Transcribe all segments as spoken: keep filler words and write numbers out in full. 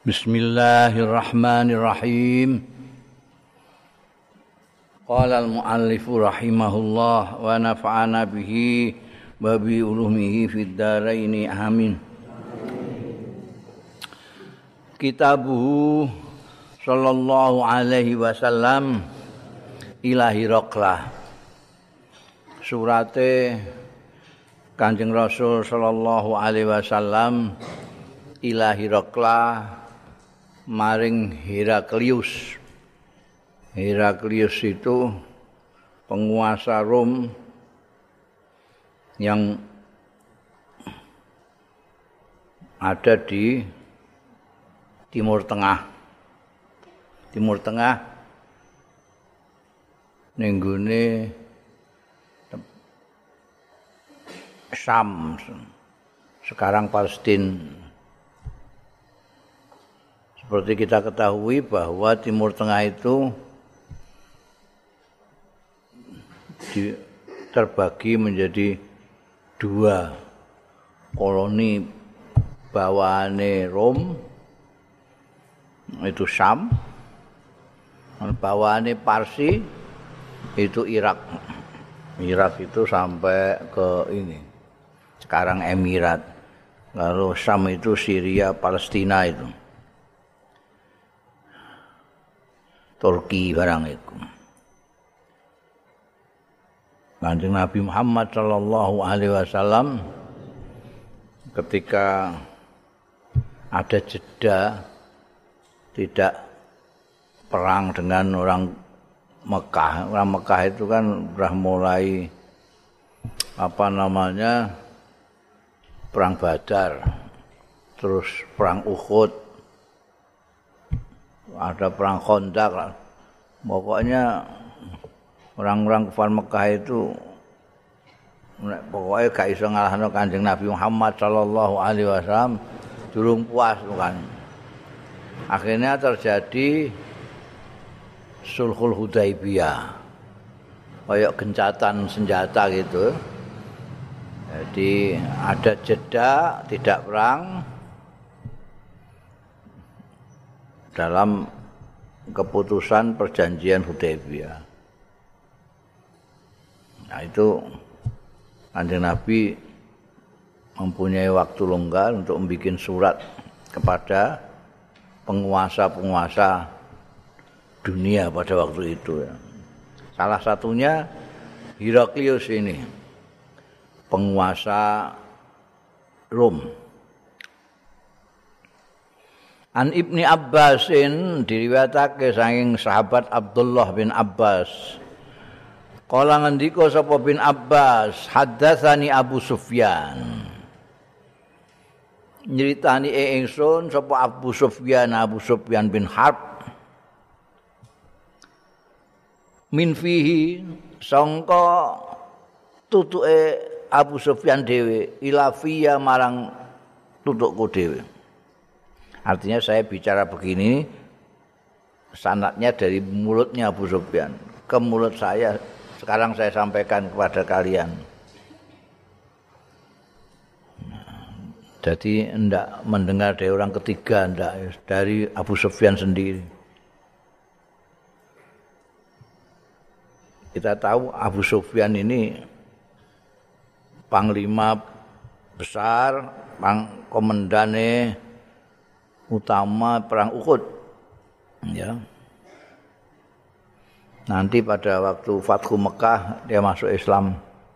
Bismillahirrahmanirrahim. Qala al-muallifu rahimahullah wa nafa'ana bihi wa bi ulumihi fid dharaini amin. Kitabuhu sallallahu alaihi wasallam ila Hiraqlah. Surate Kanjeng Rasul sallallahu alaihi wasallam ila Hiraqlah maring Heraklius. Heraklius itu penguasa Rom yang ada di Timur Tengah. Timur Tengah ning nggone Syam, sekarang Palestina. Seperti kita ketahui bahwa Timur Tengah itu di, terbagi menjadi dua koloni bawaane Rom, itu Syam, bawaane Parsi itu Irak. Irak itu sampai ke ini, sekarang Emirat. Lalu Syam itu Syria, Palestina itu. Turki barang itu. Kanjeng Nabi Muhammad sallallahu alaihi wasallam ketika ada jeda tidak perang dengan orang Mekah. Orang Mekah itu kan sudah mulai apa namanya perang Badar, terus perang Uhud, ada perang Khandaq. Pokoknya orang-orang kafir Mekah itu pokoknya gak iso ngalahno Kanjeng Nabi Muhammad sallallahu alaihi wasallam, durung puas kan. Akhirnya terjadi Sulhul Hudaibiyah. Kayak gencatan senjata gitu. Jadi ada jeda tidak perang dalam keputusan perjanjian Hudaibiyah. Nah itu Kanjeng Nabi mempunyai waktu longgar untuk membuat surat kepada penguasa-penguasa dunia pada waktu itu. Salah satunya Heraklius ini, penguasa Rom. An Ibni Abbasin diriwayatake saking sahabat Abdullah bin Abbas. Kala ngendika sapa bin Abbas, haddatsani Abu Sufyan. Nyritani ingsun sapa Abu Sufyan, Abu Sufyan bin Harb. Min fihi sangka tutuke Abu Sufyan dhewe ila fiya marang tutukku dhewe. Artinya saya bicara begini sanadnya dari mulutnya Abu Sufyan ke mulut saya, sekarang saya sampaikan kepada kalian. Jadi enggak mendengar dari orang ketiga, enggak, dari Abu Sufyan sendiri. Kita tahu Abu Sufyan ini panglima besar, pang komandane utama perang Uhud, ya. Nanti pada waktu Fathu Mekah dia masuk Islam.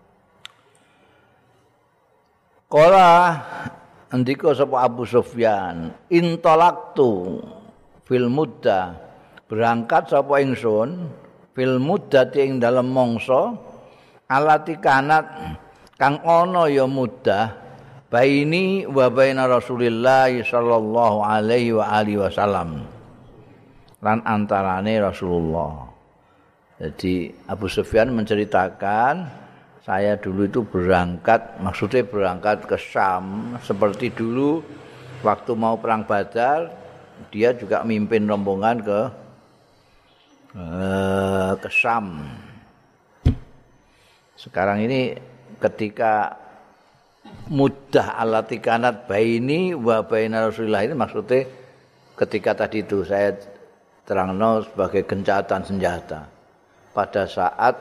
Qala andika sapa Abu Sufyan, intalaqtu fil muddah, berangkat sapa ingsun fil muddah ing dalem mangsa alati kanat kang ana ya muddah baini wa baina Rasulillah sallallahu alaihi wa alihi wasallam, lan antarane Rasulullah. Jadi Abu Sufyan menceritakan, saya dulu itu berangkat, maksudnya berangkat ke Syam seperti dulu waktu mau perang Badar, dia juga mimpin rombongan ke eh, ke Syam. Sekarang ini ketika muddah allati kanat baini wa baina Rasulillah ini maksudnya ketika tadi itu saya terangno sebagai gencatan senjata. Pada saat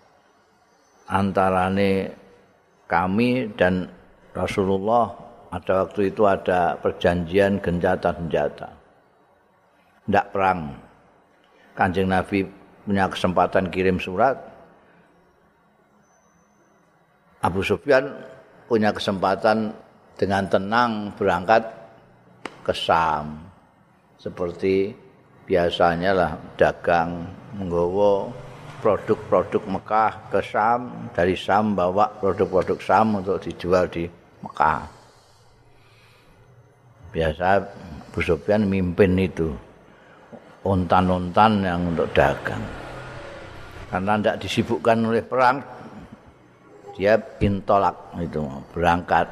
antarane kami dan Rasulullah ada waktu itu ada perjanjian gencatan senjata. Tidak perang. Kanjeng Nabi punya kesempatan kirim surat. Abu Sufyan punya kesempatan dengan tenang berangkat ke Syam. Seperti biasanya lah dagang menggawa produk-produk Mekah ke Syam, dari Syam bawa produk-produk Syam untuk dijual di Mekah. Biasa Abu Sufyan mimpin itu. Ontan-ontan yang untuk dagang. Karena tidak disibukkan oleh perang, dia intolak itu berangkat.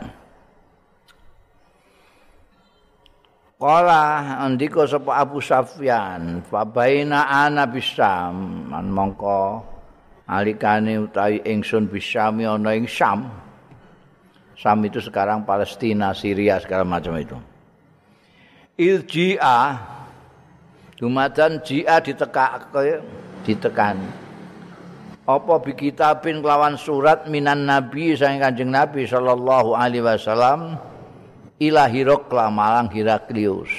Qala andika sapa Abu Sufyan, fa baina ana bisam, man mongko alikane utawi ingsun bisami ana ing Syam. Syam itu sekarang Palestina, Syria segala macam itu. Ilji'a Dumatan jia ditekake ditekan. Apa bi kitabin kelawan surat minan nabi saking Kanjeng Nabi sallallahu alaihi wasallam ila Hiraqla marang Heraklius.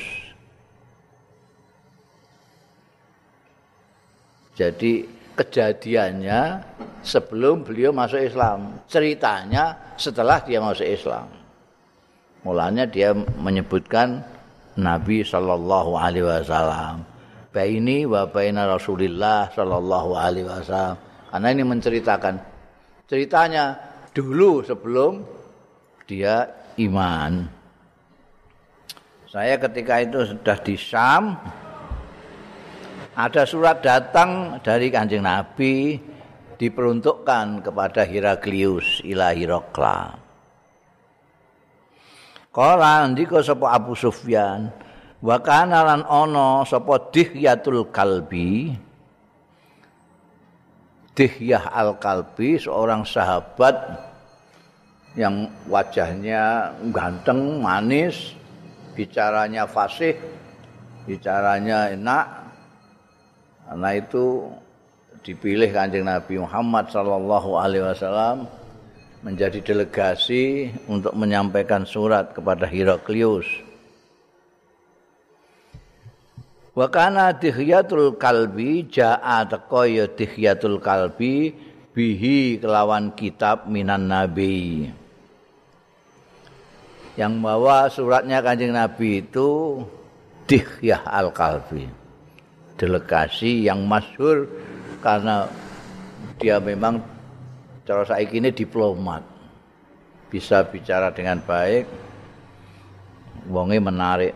Jadi kejadiannya sebelum beliau masuk Islam, ceritanya setelah dia masuk Islam. Mulanya dia menyebutkan Nabi sallallahu alaihi wasallam. Baini wa baina Rasulillah sallallahu alaihi wasallam. Karena ini menceritakan ceritanya dulu sebelum dia iman. Saya ketika itu sudah di Syam, ada surat datang dari Kanjeng Nabi diperuntukkan kepada Heraklius ila Hiraqla. Qala ndika sapa Abu Sufyan wa kana lan ana sapa Dihyatul Kalbi. Dihyah Al-Kalbi seorang sahabat yang wajahnya ganteng, manis, bicaranya fasih, bicaranya enak. Karena itu dipilih Kanjeng Nabi Muhammad sallallahu alaihi wasallam menjadi delegasi untuk menyampaikan surat kepada Heraklius. Wa kana Dihyatul Kalbi jaa teko ya Dihyatul Kalbi bihi kelawan kitab minan nabi. Yang bawa suratnya Kanjeng Nabi itu Dihyah Al-Kalbi. Delegasi yang masyhur karena dia memang cara saiki ini diplomat. Bisa bicara dengan baik. Wonge menarik.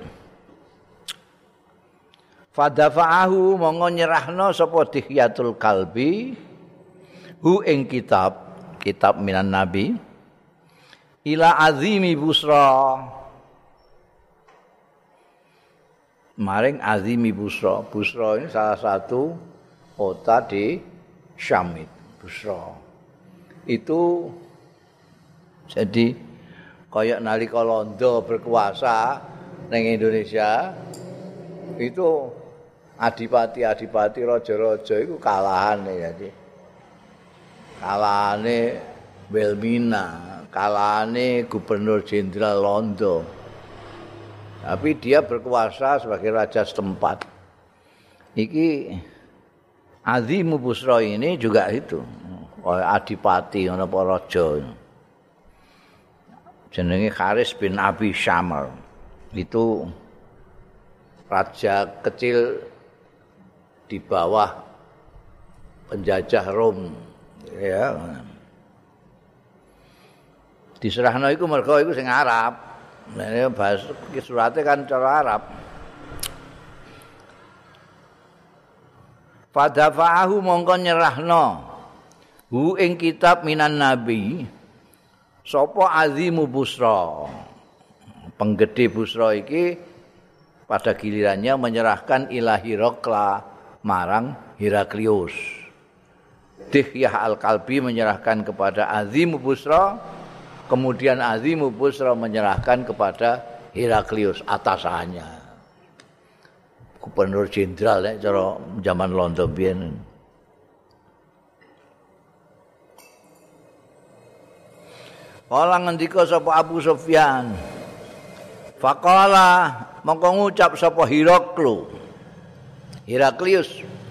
Fadafa'ahu monggo nyerahno sapa Dihyatul Kalbi hu ing kitab kitab minan nabi ila azimi Busra maring azimi Busra. Busra ini salah satu kota di Syam itu, Busra. Itu jadi kayak nalika Londo berkuasa ning Indonesia itu adipati-adipati raja-raja itu kalahan jadi. Kalahane Wilmina, kalahane Gubernur Jenderal Londo. Tapi dia berkuasa sebagai raja setempat. Iki Azimu Busra ini juga itu, adipati ana apa raja. Jenenge Haris bin Abi Syamr. Itu raja kecil di bawah penjajah Rom, ya. Diserahno iku mergo iku sing Arab. Nah, bahasa surate kan cara Arab. Fadafa'ahu mongko nyerahno hu ing kitab minan nabi sapa Azimu Busra. Penggede Busra iki pada gilirannya menyerahkan ila Hiraqla marang Heraklius. Dihyah Al-Kalbi menyerahkan kepada Azimu Busra, kemudian Azimu Busra menyerahkan kepada Heraklius atasannya. gubernur jenderal nek cara zaman Londo biyen. Kala ngendika sapa Abu Sufyan. Faqala mongko ngucap sapa Hiraklu. Heraklius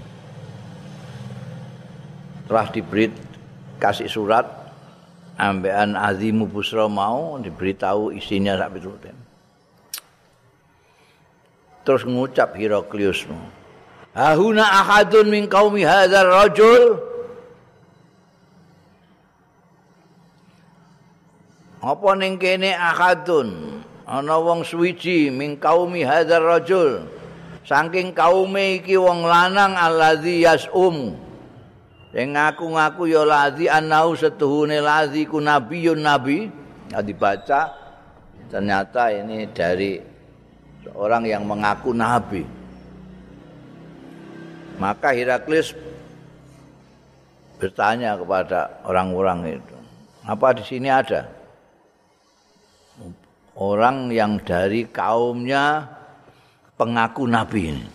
telah diberi kasih surat ambekan Azimu Busra mau diberitahu isinya sak piturute. Terus ngucap Heraklius. Hahuna ahadun min qaumi hadzal rajul. Apa ning kene ahadun ana wong suwiji min qaumi hadzal rajul. Saking kaume iki wong lanang allazi yasum. Sing ngaku-ngaku ya lazi annau setuhune lazi ku nabiyun nabi. Nah, dibaca ternyata ini dari seorang yang mengaku nabi. Maka Heraklius bertanya kepada orang-orang itu, apa di sini ada orang yang dari kaumnya pengaku nabi ini?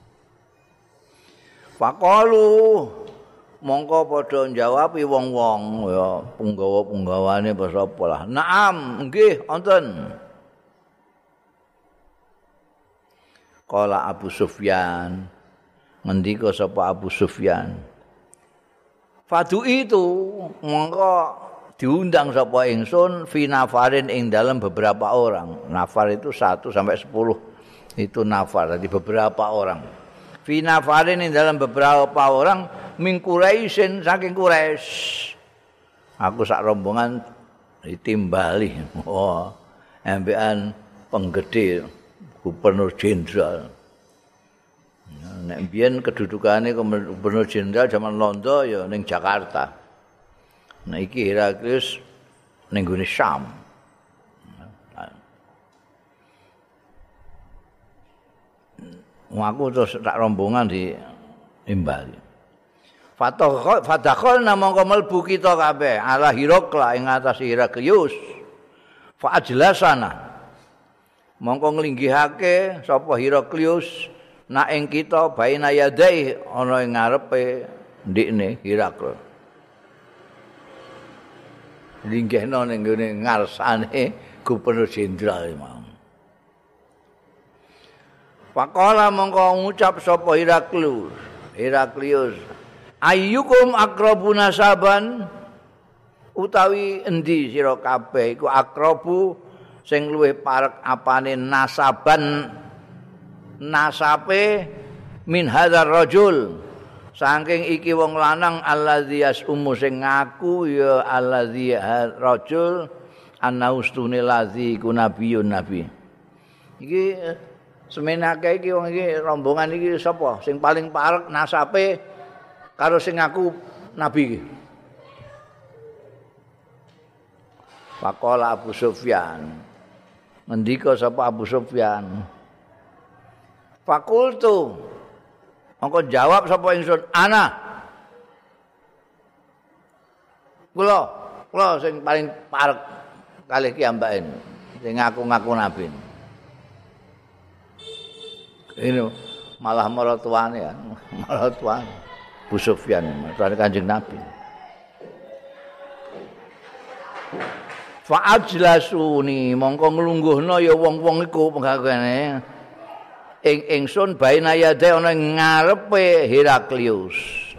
Faqalu mongko padha njawabi wong-wong ya punggawa-punggawane basa apa lah. Naam, nggih wonten. Qala Abu Sufyan, ngendika sapa Abu Sufyan. Fadu itu mongko diundang sapa ingsun fi nafarin ing dalam beberapa orang. Nafar itu satu sampai sepuluh itu nafar, jadi beberapa orang. Fi nafarin ing dalam beberapa orang min Quraisyin saking Quraisy. Aku sak rombongan ditimbali. Oh, ambekan penggede gubernur jenderal. Nek biyen kedudukane gubernur jenderal zaman Londo ya ning Jakarta. Nah iki Heraklius ning gone Syam. Aku terus tak rombongan di imbali. Fatakhol fadakhol namangka mlebu kita kabeh ala Hirakla ing atas Heraklius. Fa ajlasana. Mongko nglinggihake sapa Heraklius nak ing kita baina yadai ana ing ngarepe ndikne Heraklius. Linggihno ning gone ngarsane gubernur jenderal mau. Faqala mongko ngucap sapa Heraklius, Heraklius, ayyukum aqrabu nasaban utawi endi sira kabeh iku aqrabu sing luwih parek apane nasaban nasape min hadzal rajul. Saking iki wong lanang allazi yasumu sing ngaku ya allazi rajul anaustune lazi ku nabiyun nabi. Iki semenake iki wong iki rombongan iki sapa sing paling parek nasabe karo sing ngaku nabi iki. Faqala Abu Sufyan. Ngendika sapa Abu Sufyan. Fakultu mongko jawab sapa ingsun ana. Kula, kula sing paling parek kalih ki ambaken sing ngaku-ngaku nabi. Ini malah maratuane ya, maratuane Abu Sufyan, maratuane Kanjeng Nabi. Fa ajlasuni mongko nglungguhna ya wong-wong iku penggagane. Ing ingsun baina yade ana ngarepe Heraklius.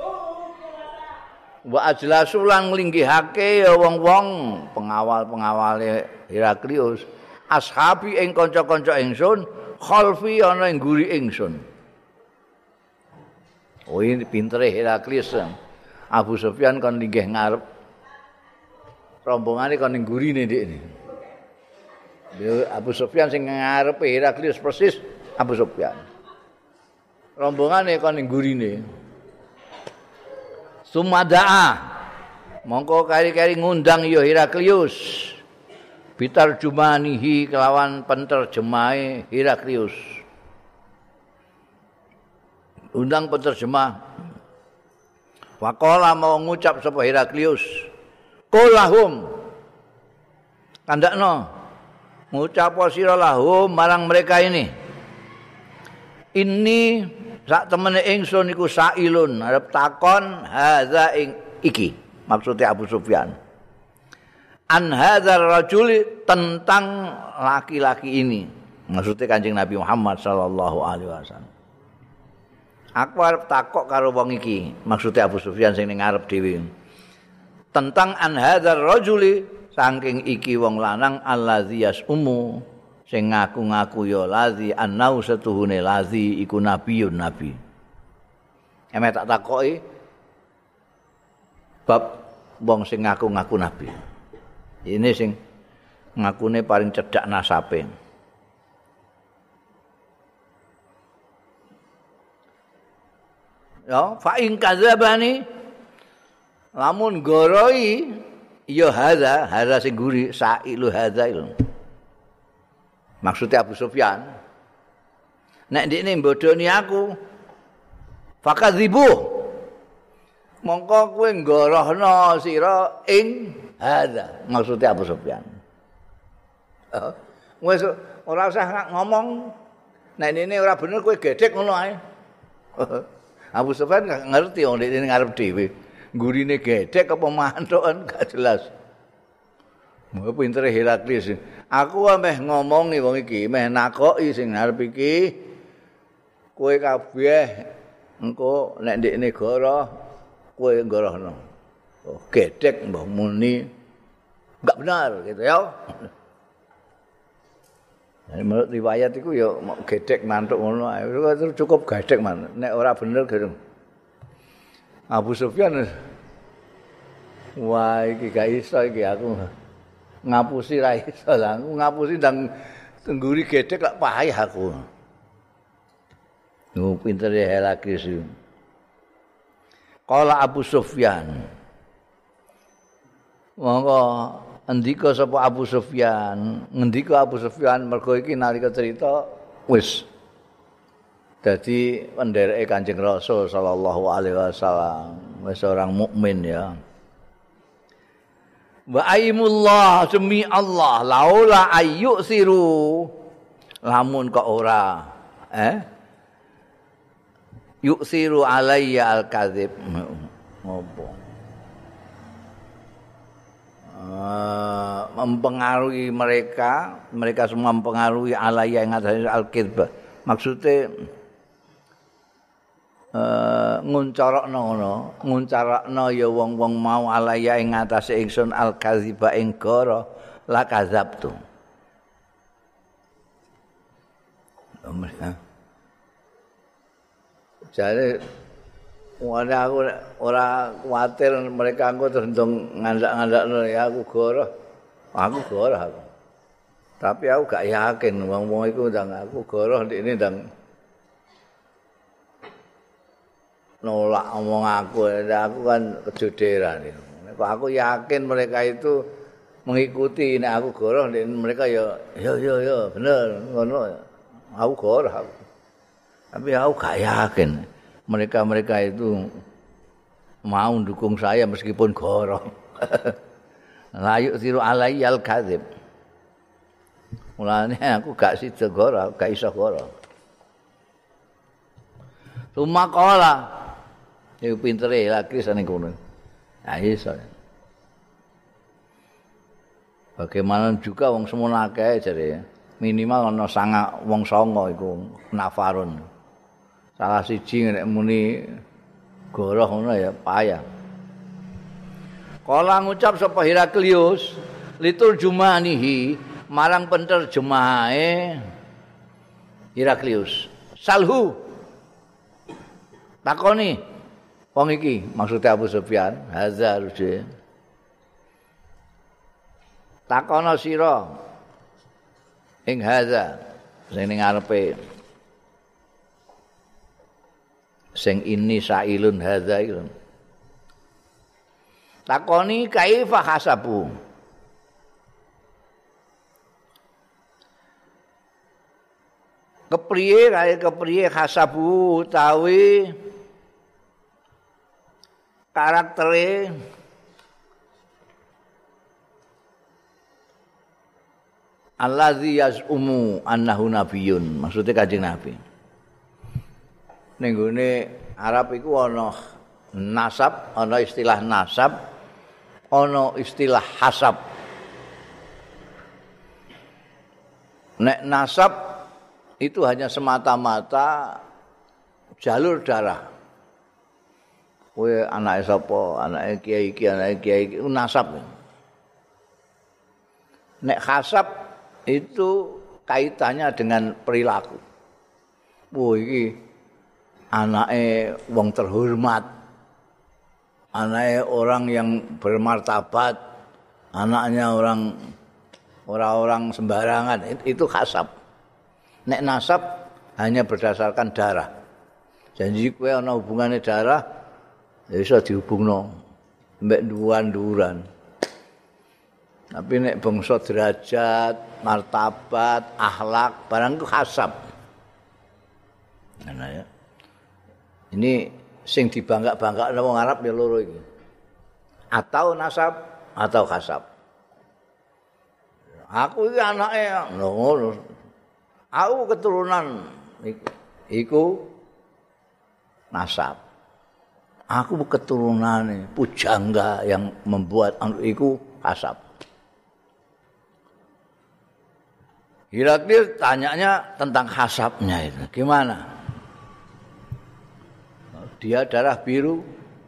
Wa ajlasu lan nglinggihake ya wong-wong pengawal-pengawale Heraklius. Ashabi ing kanca-kanca ingsun, khalfi ana ing nguri ingsun. Oh ini pintere Heraklius. Abu Sufyan kon linggih ngarep. Rombongane kon ning ngurine ndekne. Abu Sufyan sing ngarepe Heraklius persis Abu Sufyan. Rombongane kon ning gurine. Sumadaa. Mongko kari-kari ngundang ya Heraklius. Bitarjumanihi kelawan penterjemahe Heraklius. Undang penterjemah. Waqala mau ngucap sapa Heraklius. Qulahum. Kandakno. Ngucap sira lahum marang mereka ini. Ini sak temene ingsun iku sailun arep takon hadza ing iki maksudnya Abu Sufyan an hadzal rajuli tentang laki-laki ini maksudnya Kanjeng Nabi Muhammad sallallahu alaihi wasallam aku arep takok karo wong iki maksudnya Abu Sufyan sing ning ngarep dhewe tentang an hadzal rajuli saking iki wong lanang allazi yasumu sing ngaku-ngaku ya lazi annau setuhune lazi iku nabiyun nabi. Emek tak takoki bab wong sing ngaku-ngaku nabi. Ini sing ngakune paling cedhak nasabe. Ya, fa in kadzabani lamun goroi ya hadza, hadza sing guri sailu hadza ilmu. Maksudnya Abu Sufyan nek ndekne mbodoni aku fakadzibu mongko kowe nggorohno sira ing hadza maksudnya Abu Sufyan oh, wis ora usah ngomong nek ini ora bener kowe gedhek ngono ae Abu Sufyan gak ngerti wong ndekne ngarep dhewe gurine gedhek apa mantukan gak jelas. Mau pintere Heraklius. Aku meh ngomongi wong iki, meh nakoki sing arep iki. Kowe kabeh engko nek ndekne goro, kowe gorohno. Oh, gedhek mbah muni enggak benar gitu ya. Nah, menurut riwayat iku ya gedhek mantuk ngono ae. Cukup gedhek man. Nek ora bener gitu. Abu Sufyan wah iki gak iso iki aku. Ngapusi ra iso lah, ngapusi ndang tengguri gedhek lak payah aku. Nu pinter ya Heraklius. Qala Abu Sufyan. Monggo endika sapa Abu Sufyan, ngendika Abu Sufyan mergo iki nalika cerita wis dadi pendereke Kanjeng Rasul sallallahu alaihi wasallam, wis orang mukmin ya. Wa aimullah demi Allah laula ayyusiru lamun kok ora eh yusiru alayya al-kadzib ngopo uh, mempengaruhi mereka mereka semua mempengaruhi alayya ing atase al-kadzib maksudnya Uh, nguncarokno ngono nguncarokno ya wong-wong mau alaya ing atase ingsun al-kadziba ing goro la kadzabtu jare wong aku ora kuwatir mereka engko terus ndong ngandak-ngandakno ya aku goro aku goro aku tapi aku gak yakin wong-wong iku ndang aku goro ndekne ndang nolak omong aku, aku kan kejoderan. Kok aku yakin mereka itu mengikuti nek aku goroh mereka ya yo yo yo bener ngono. Aku goroh aku. Tapi aku gak yakin mereka-mereka itu mau dukung saya meskipun goroh. Layuk siru alayyal kadzib. Mulane aku gak sida goroh, gak iso goroh. Sumakola iku pintere lagi sane kono. Ah iso. Bagaimana juga wong semono akeh jare minimal ana sanga wong songo iku nafarun. Salah siji nek muni goroh ngono ya payah. Kala ngucap sapa Heraklius litur jumanihi marang penterjemahe Heraklius. Salhu takoni wong iki maksudnya Abu Sufyan hazza ruje takono sira ing hazza sing ning ngarepe sing ini sailun hazza iku takoni kaifa hasabu kepriye kae kepriye hasabu utawi karaktere allazi yazumu annahu nabiyyun maksudnya Kanjeng Nabi ning gone Arab iku ana nasab, ana istilah nasab, ana istilah hasab. Nek nasab itu hanya semata-mata jalur darah. Kowe anake sapa, anake kiai iki, anake kiai iki nasab. Nek hasab itu kaitannya dengan perilaku. Wah iki anake wong terhormat. Anake orang yang bermartabat, anaknya orang orang-orang sembarangan, itu hasab. Nek nasab hanya berdasarkan darah. Janji kowe ana hubungane darah, ya iso dihubungno mbek duwan-duran. Tapi nek bangsa derajat, martabat, akhlak, barang itu hasab. Nah, ya. Ini sing dibangga-bangga wong Arab ya loro iki. Atau nasab atau hasab. Aku iki anake ngono. Aku keturunan iku nasab. Aku keturunane pujangga yang membuat anu iku hasab. Heraklius tanyanya tentang hasabnya itu. Gimana? Dia darah biru.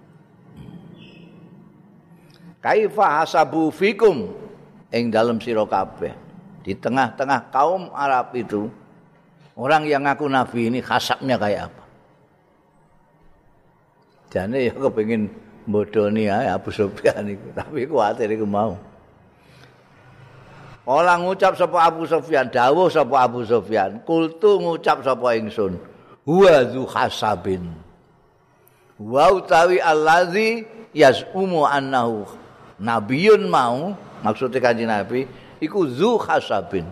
Kaifa hasabu fikum ing dalam sira kabeh. Di tengah-tengah kaum Arab itu orang yang ngaku nabi ini hasabnya kayak apa? Jane ya kepengin bodoni ae Abu Sufyan iku, tapi kuwatir iku mau. Ora ngucap sapa Abu Sufyan, dawuh sapa Abu Sufyan, kultu ngucap sapa ingsun, huwa dzu hasabin. Wa utawi allazi yasumu annahu nabiyun mau, maksudnya kanjeng Nabi iku dzu hasabin.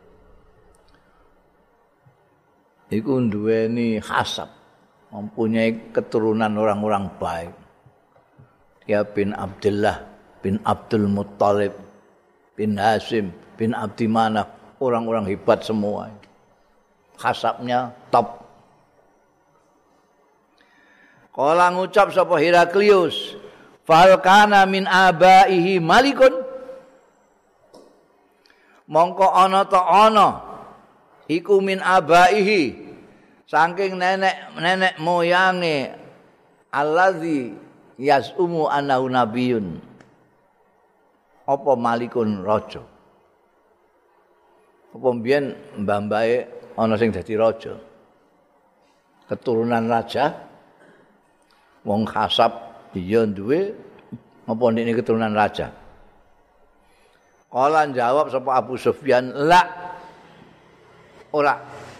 Iku duweni hasab, mempunyai keturunan orang-orang baik. Dia bin Abdullah, bin Abdul Muttalib, bin Hasim, bin Abdi Manaf, orang-orang hebat semua. Hasabnya top. Kala ngucap sapa Heraklius, fal kana min abaihi malikun. Mongko ana ta ana iku min abaihi saking nenek-nenek moyange allazi yasumu annahu nabiyun. Apa malikun raja? Apa mbiyen mbah-mbahe ana sing dadi raja? Keturunan raja wong hasab iya duwe apa ndekne keturunan raja? Kala jawab sapa Abu Sufyan, la ora.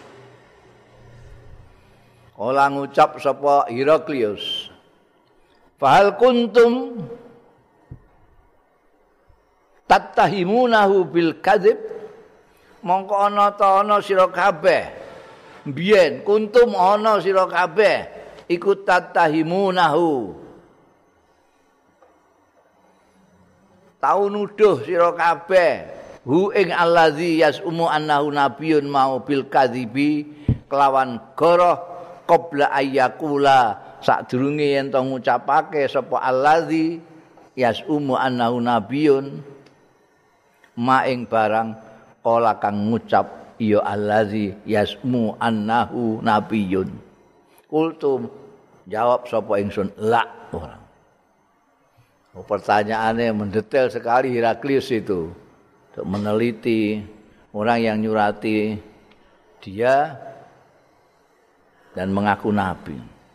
Kala ngucap sapa Heraklius, fahal kuntum tattahimunahu bil kadzib, mongko ana ta ana sira kabeh biyen kuntum ana sira kabeh iku tattahimunahu tau nuduh sira kabeh hu ing allazi yasumu annahu nabiyyun mau bil kadzibi kelawan goroh qabla ayyakula sadurunge yen to ngucapake sapa allazi yasumu annahu nabiyyun ma ing barang kala kang ngucap ya allazi yasmu annahu nabiyyun. Kultum jawab sapa ingsun la ora. Oh, pertanyaannya mendetail sekali Heraklius itu untuk meneliti orang yang nyurati dia dan mengaku nabi.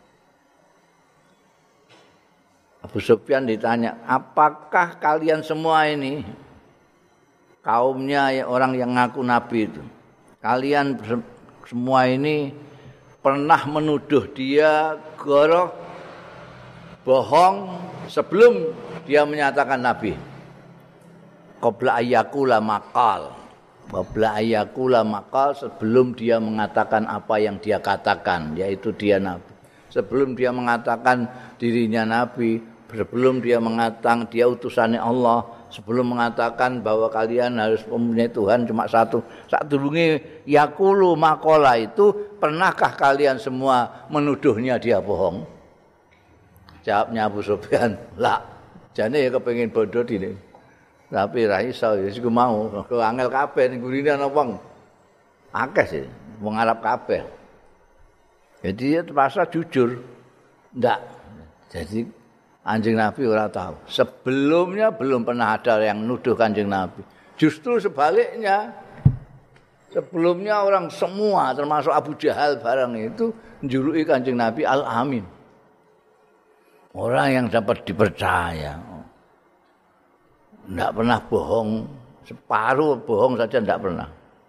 Abu Sufyan ditanya, apakah kalian semua ini kaumnya orang yang ngaku nabi itu, kalian semua ini pernah menuduh dia goroh bohong sebelum dia menyatakan nabi? Qabla ayyakula maqal. Qabla ayyakula maqal, sebelum dia mengatakan apa yang dia katakan, yaitu dia nabi. Sebelum dia mengatakan dirinya nabi, sebelum dia mengatakan dia utusannya Allah, sebelum mengatakan bahwa kalian harus mempunyai Tuhan cuma satu. Saat dulunge yaqulu maqala itu, pernahkah kalian semua menuduhnya dia bohong? Jawabnya Abu Sufyan, lah. Jane ya kepengin bodoh dine. Tapi ra iso ya iku mau, kok angel kabeh ning gurine ana wong. Akeh sih, wong Arab kabeh. Jadi dia terpaksa jujur. Ndak. Jadi Kanjeng Nabi ora tahu. Sebelumnya belum pernah ada yang nuduh Kanjeng Nabi. Justru sebaliknya. Sebelumnya orang semua termasuk Abu Jahal barang itu menjuluki Kanjeng Nabi Al-Amin. Orang yang dapat dipercaya. Tidak pernah bohong. Separuh bohong saja tidak pernah.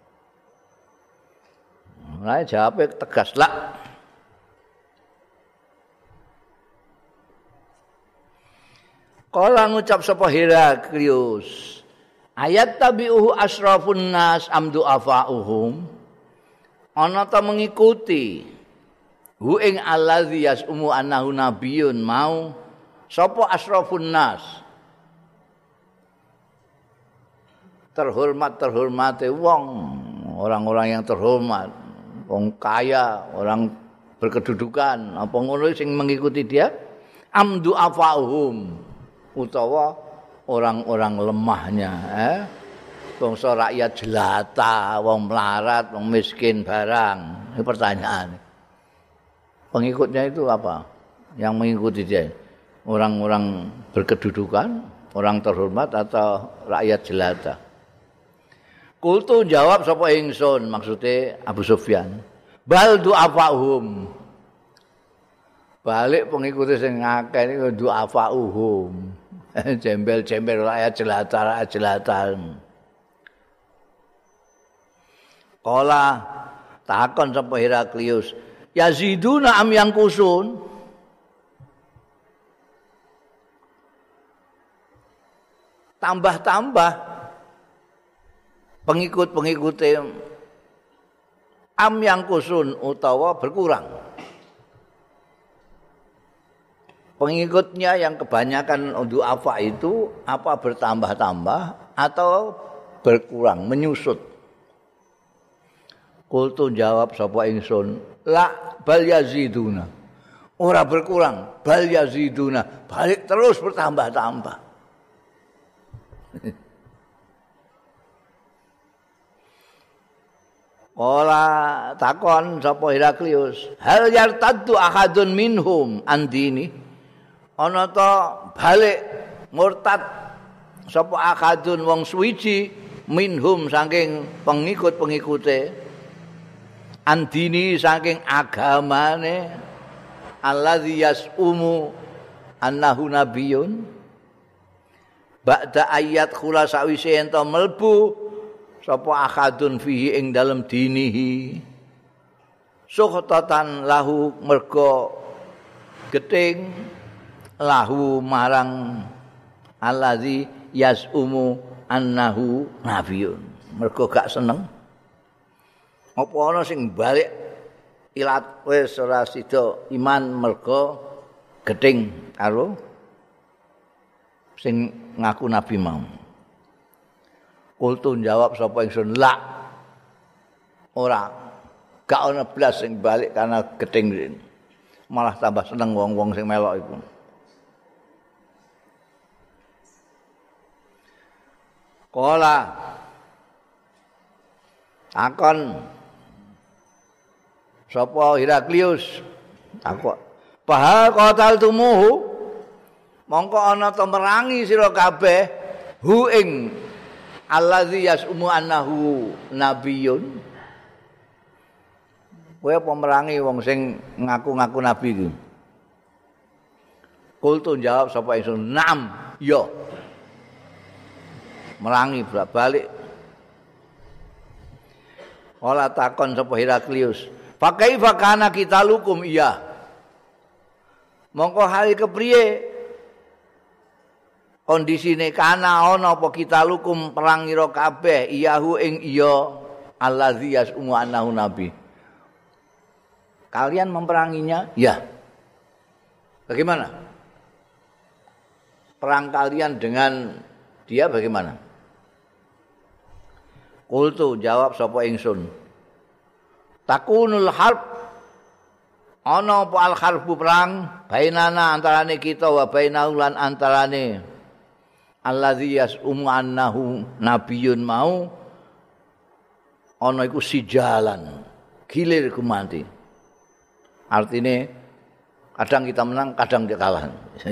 Nah, jawabnya tegas lah. Kala ngucap sapa Heraklius. Ayat tabi'uhu asrafun nas amdu afa'uhum. Ana ta mengikuti hu ing allazi yasumu annahu nabiyyun mau sapa asrafun nas terhormat terhormate wong, orang-orang yang terhormat, wong kaya, orang berkedudukan, apa ngono sing mengikuti dia amdu afauhum utawa orang-orang lemahnya, eh bangsa rakyat jelata, wong melarat, wong miskin barang. Ini pertanyaan. Pengikutnya itu apa? Yang mengikuti dia orang-orang berkedudukan, orang terhormat atau rakyat jelata? Kultu jawab sapa ingsun, maksudnya Abu Sufyan. Bal du'afahum. Balik pengikuti sing akeh niku du'afahum. Jembel-jembel rakyat jelata, rakyat jelata. Kala takon sapa Heraklius, yaziduna am yang kusun? Tambah-tambah pengikut-pengikut am yang kusun utawa berkurang. Pengikutnya yang kebanyakan du'afa itu apa bertambah-tambah atau berkurang, menyusut. Kultu jawab sapa ingsun, la bal yaziduna. Ora berkurang, bal yaziduna, balik terus bertambah-tambah. Kala takon sapa Heraklius, hal yartaddu ahadun minhum andini? Ana ta balik murtad sapa ahadun wong suwiji minhum saking pengikut-pengikute andini saking agamane allazi yasumu annahu nabiyyun ba'da ayat khula sawise ento mlebu sapa ahadun fihi ing dalem dinihi suhtatan lahu mergo geting lahu marang allazi yasumu annahu nabiyyun mergo gak seneng apa ana sing balik ilat wis ora sida iman mergo geting karo sing ngaku nabi mau. Kultu jawab sapa ingsun, la ora gak ana blas sing balik karena geting malah tambah seneng wong-wong sing melok iku. Kala takon sapa Heraklius takon bahal qataltumuhu mongko ana ta merangi sira kabeh hu ing allazi yasumu annahu nabiyyun kowe apa merangi wong sing ngaku-ngaku nabi iki. Kultu jawab sapa ingsun naam ya merangi balik. Kala takon sapa Heraklius, "Fa kaifa kana qitalukum iya?" Mongko hal kepriye kondisine kana ana apa qitalukum perang ira kabeh iyahu ing iya allazi yasumu annahu nabi. Kalian memperanginya? Ya. Bagaimana? Perang kalian dengan Dia bagaimana? Qultu jawab sapa ingsun. Takunul harb ana apa al harbu perang bainana antarane kita wa bainahu lan antarane allazi yas'umu annahu nabiyyun mau ana iku sijalan gilir gumanti. Artine kadang kita menang, kadang kita kalah.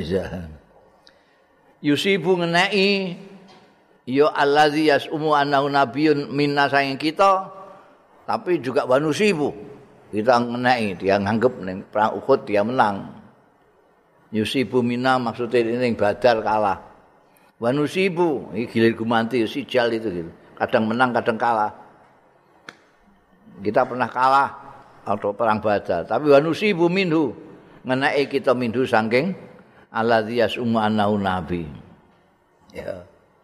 Yusibu ngeneki ya allazi yas'umu annahu nabiyyun minna saking kita, tapi juga wanusibu. Kita ngeneki, dia nganggep ning perang Uhud dia menang. Yusibu minna maksudnya ini Badar kalah. Wanusibu, ini gilir gumanti sijal itu gitu. Kadang menang, kadang kalah. Kita pernah kalah atau perang Badar, tapi wanusibu minhu ngeneki kita minhu saking alladzi yas'umu annahu nabi. Ya.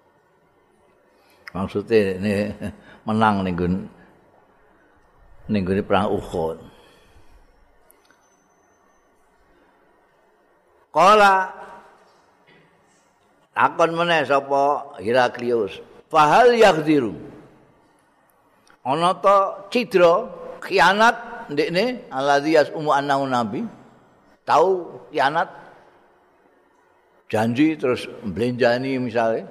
Maksudnya ini menang ning ning perang Uhud. Qala akon meneh sapa Heraklius, fahal yaghdiru. Ana ta cidra khianat ndekne alladzi yas'umu annahu nabi. Tahu khianat janji terus mblenjani misalnya.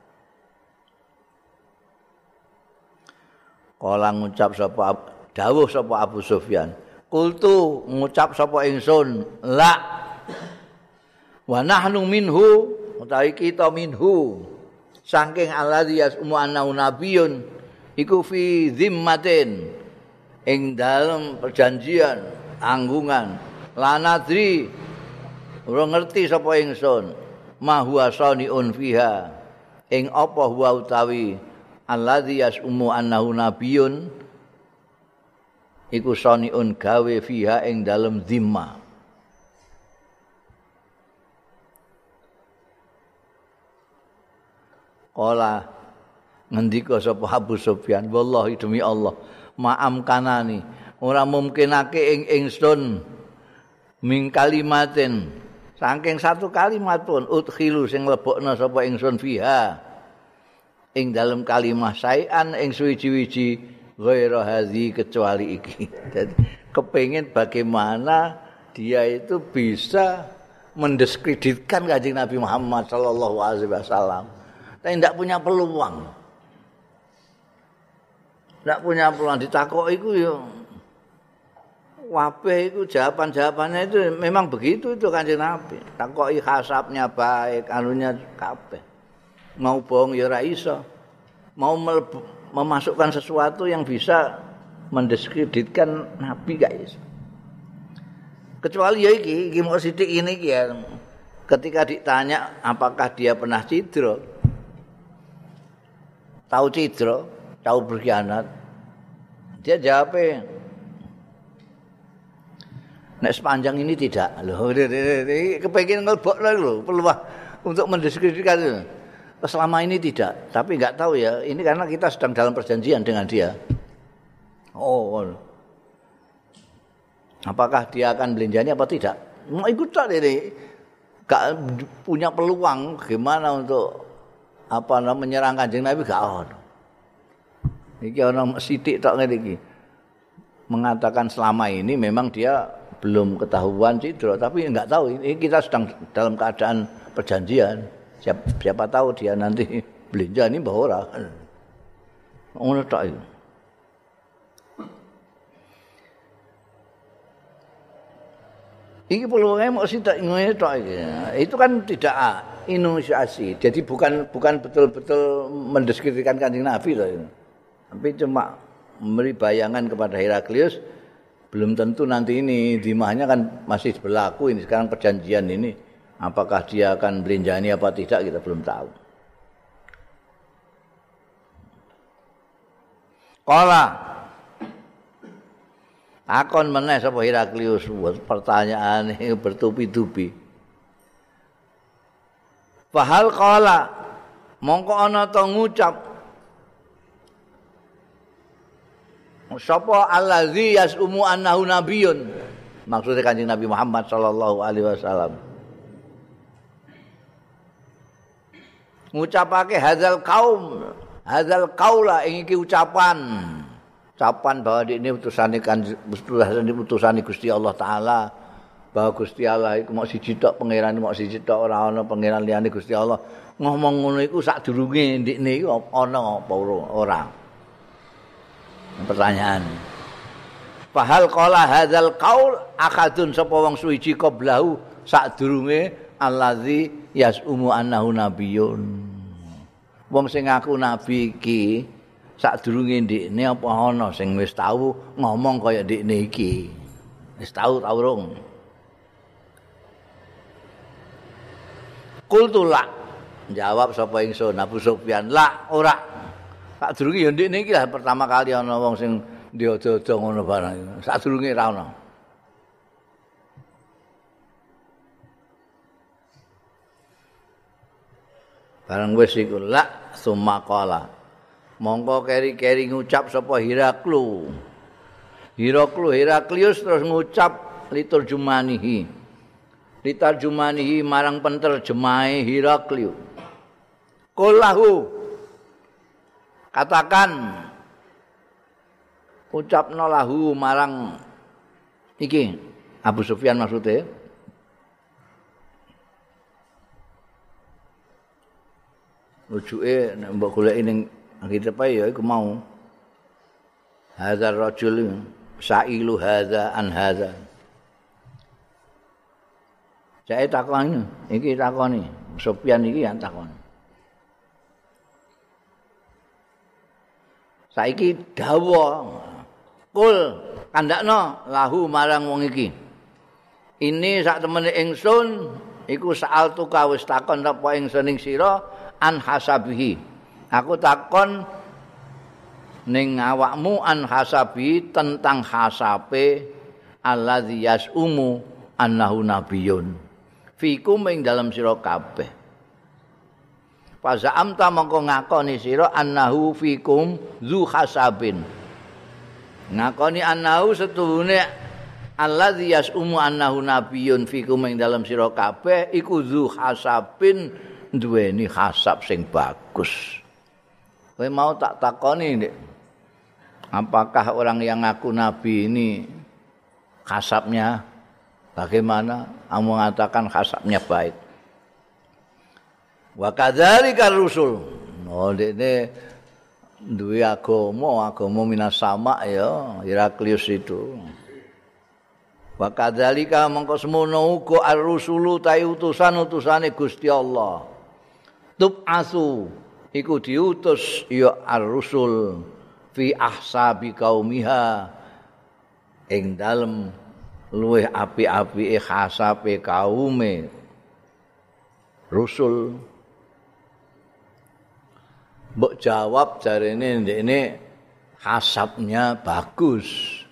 Kala ngucap sapa dawuh sapa Abu Sufyan. Qultu ngucap sapa ingsun, la wa nahnu minhu utawi kita minhu saking alladzi yas'umu annahu nabiyyun iku fi zimmatin ing dalem perjanjian anggungan lanadri ora ngerti sapa ingsun ma huwa saniun fiha ing apa huwa utawi alladzi yas'umu annahu nabiyyun iku saniun gawe fiha ing dalem zimma. Kala ngendika sapa Abu Sufyan, wallahi demi Allah, ma'am kanani ora mungkinake ing ingsun ming kalimatin saking satu kalimat pun udkhilu sing lebokna sapa ingsun fiha ing dalam kalimah sayan ing suwiji-wiji ghaira hadzi kecuali iki. Jadi kepengin bagaimana dia itu bisa mendiskreditkan Kanjeng Nabi Muhammad sallallahu alaihi wasallam. Tapi tidak punya peluang. Tidak punya peluang ditakok iku ya wabeh itu jawaban-jawabannya itu memang begitu itu Kanjeng Nabi. Takoki hasabnya baik, anunya kabeh. Mau bohong ya ora iso. Mau melebu, memasukkan sesuatu yang bisa mendiskreditkan Nabi gak iso. Kecuali ya iki, iki mau sithik ini iki ya. Ketika ditanya apakah dia pernah cidra, tahu cidra, tahu berkhianat, dia jawabnya nek sepanjang ini tidak. Loh, kepengin ngelbok lho, peluang untuk mendiskreditkan itu. Selama ini tidak, tapi enggak tahu ya. Ini karena kita sedang dalam perjanjian dengan dia. Oh, apakah dia akan belanjani apa tidak? Mau ikut tak ini? Enggak punya peluang gimana untuk apa namanya menyerang Kanjeng Nabi gak ono. Iki ono sithik tok ngene iki. Mengatakan selama ini memang dia belum ketahuan cidra, tapi enggak tahu ini kita sedang dalam keadaan perjanjian. Siapa, siapa tahu dia nanti belanja ini mbah ora. Ngono tok iki. Iki peluangnya mau sitok ngene tok iki. Itu kan tidak inisiasi. Jadi bukan bukan betul-betul mendiskreditkan Kanjeng Nabi loh itu. Tapi cuma memberi bayangan kepada Heraklius, belum tentu nanti ini dimahnya kan masih berlaku ini sekarang perjanjian ini. Apakah dia akan belanjani apa tidak kita belum tahu. Qala akon meneh sapa Heraklius pertanyaan ini bertubi-tubi. Fahal qala mongko ana ta ngucap sapa allazi yas'umu annahu nabiyyun. Maksudnya Kanjeng Nabi Muhammad sallallahu alaihi wasallam. ngucapake hadzal kaum hadzal qaula ing iki ucapan ucapan bahwa ini utusane kan utusane Gusti Allah taala bahwa Gusti Allah iku mok siji tok pangeran mok siji tok ora ana pangeran liyane Gusti Allah ngomong ngono iku sadurunge ndikne iku ana apa ora pertanyaan fahal qala hadzal qaul akadun sapa wong suwiji qablahu sadurunge allazi yasumu annahu nabiyyun wong sing ngaku nabi iki sadurunge ndikne apa ana sing wis tau ngomong kaya ndikne iki wis tau ta urung qultu la jawab sapa ingsun Abu Sufyan la ora sadurunge ya ndikne iki lah pertama kali ana wong sing diodo-odo ngono barang sadurunge ra ana barang wis iku la summa qala mongko keri-keri ngucap sapa Hiraklu Hiraklu Heraklius terus ngucap liturjumanihi liturjumanihi marang penterjemahe Hiraklius qullahu katakan ucapno lahu marang iki Abu Sufyan maksudnya rujuke nek mbok goleki ning kitab ya iku mau hadzal rajul sa'ilu hadza an hadza jae takoni iki takoni Sufyan iki yang takoni saiki dawa kul kandakno lahu marang wong iki ini sak temene ingsun iku saal tuka wis takon apa ingsun ing sira an hasabihi aku takon ning awakmu an hasabi tentang hasabe alladzi yasumu annahu nabiyyun fikum ing dalam sira kabeh faza'amta mongko ngakoni sira annahu fikum zu hasabin ngakoni annahu setuhune alladzi yasumu annahu nabiyyun fikum ing dalam sira kabeh iku zu hasabin duweni hasab sing bagus. Kowe mau tak takoni Dik. Apakah orang yang ngaku nabi ini hasabnya bagaimana? Kamu mengatakan hasabnya baik. Wa kadzalika rusul. Oh dekne duwe agama, agama minas sama ya, Heraklius itu. Wa kadzalika mongko semono uga ar-rusulu ta utusan-utusane Gusti Allah. Tub'asu iku diutus ya ar-rusul fi ahsabi qaumiha ing dalem luweh api-apike hasabe kaume rusul mbok jawab jarene ndekne hasabnya bagus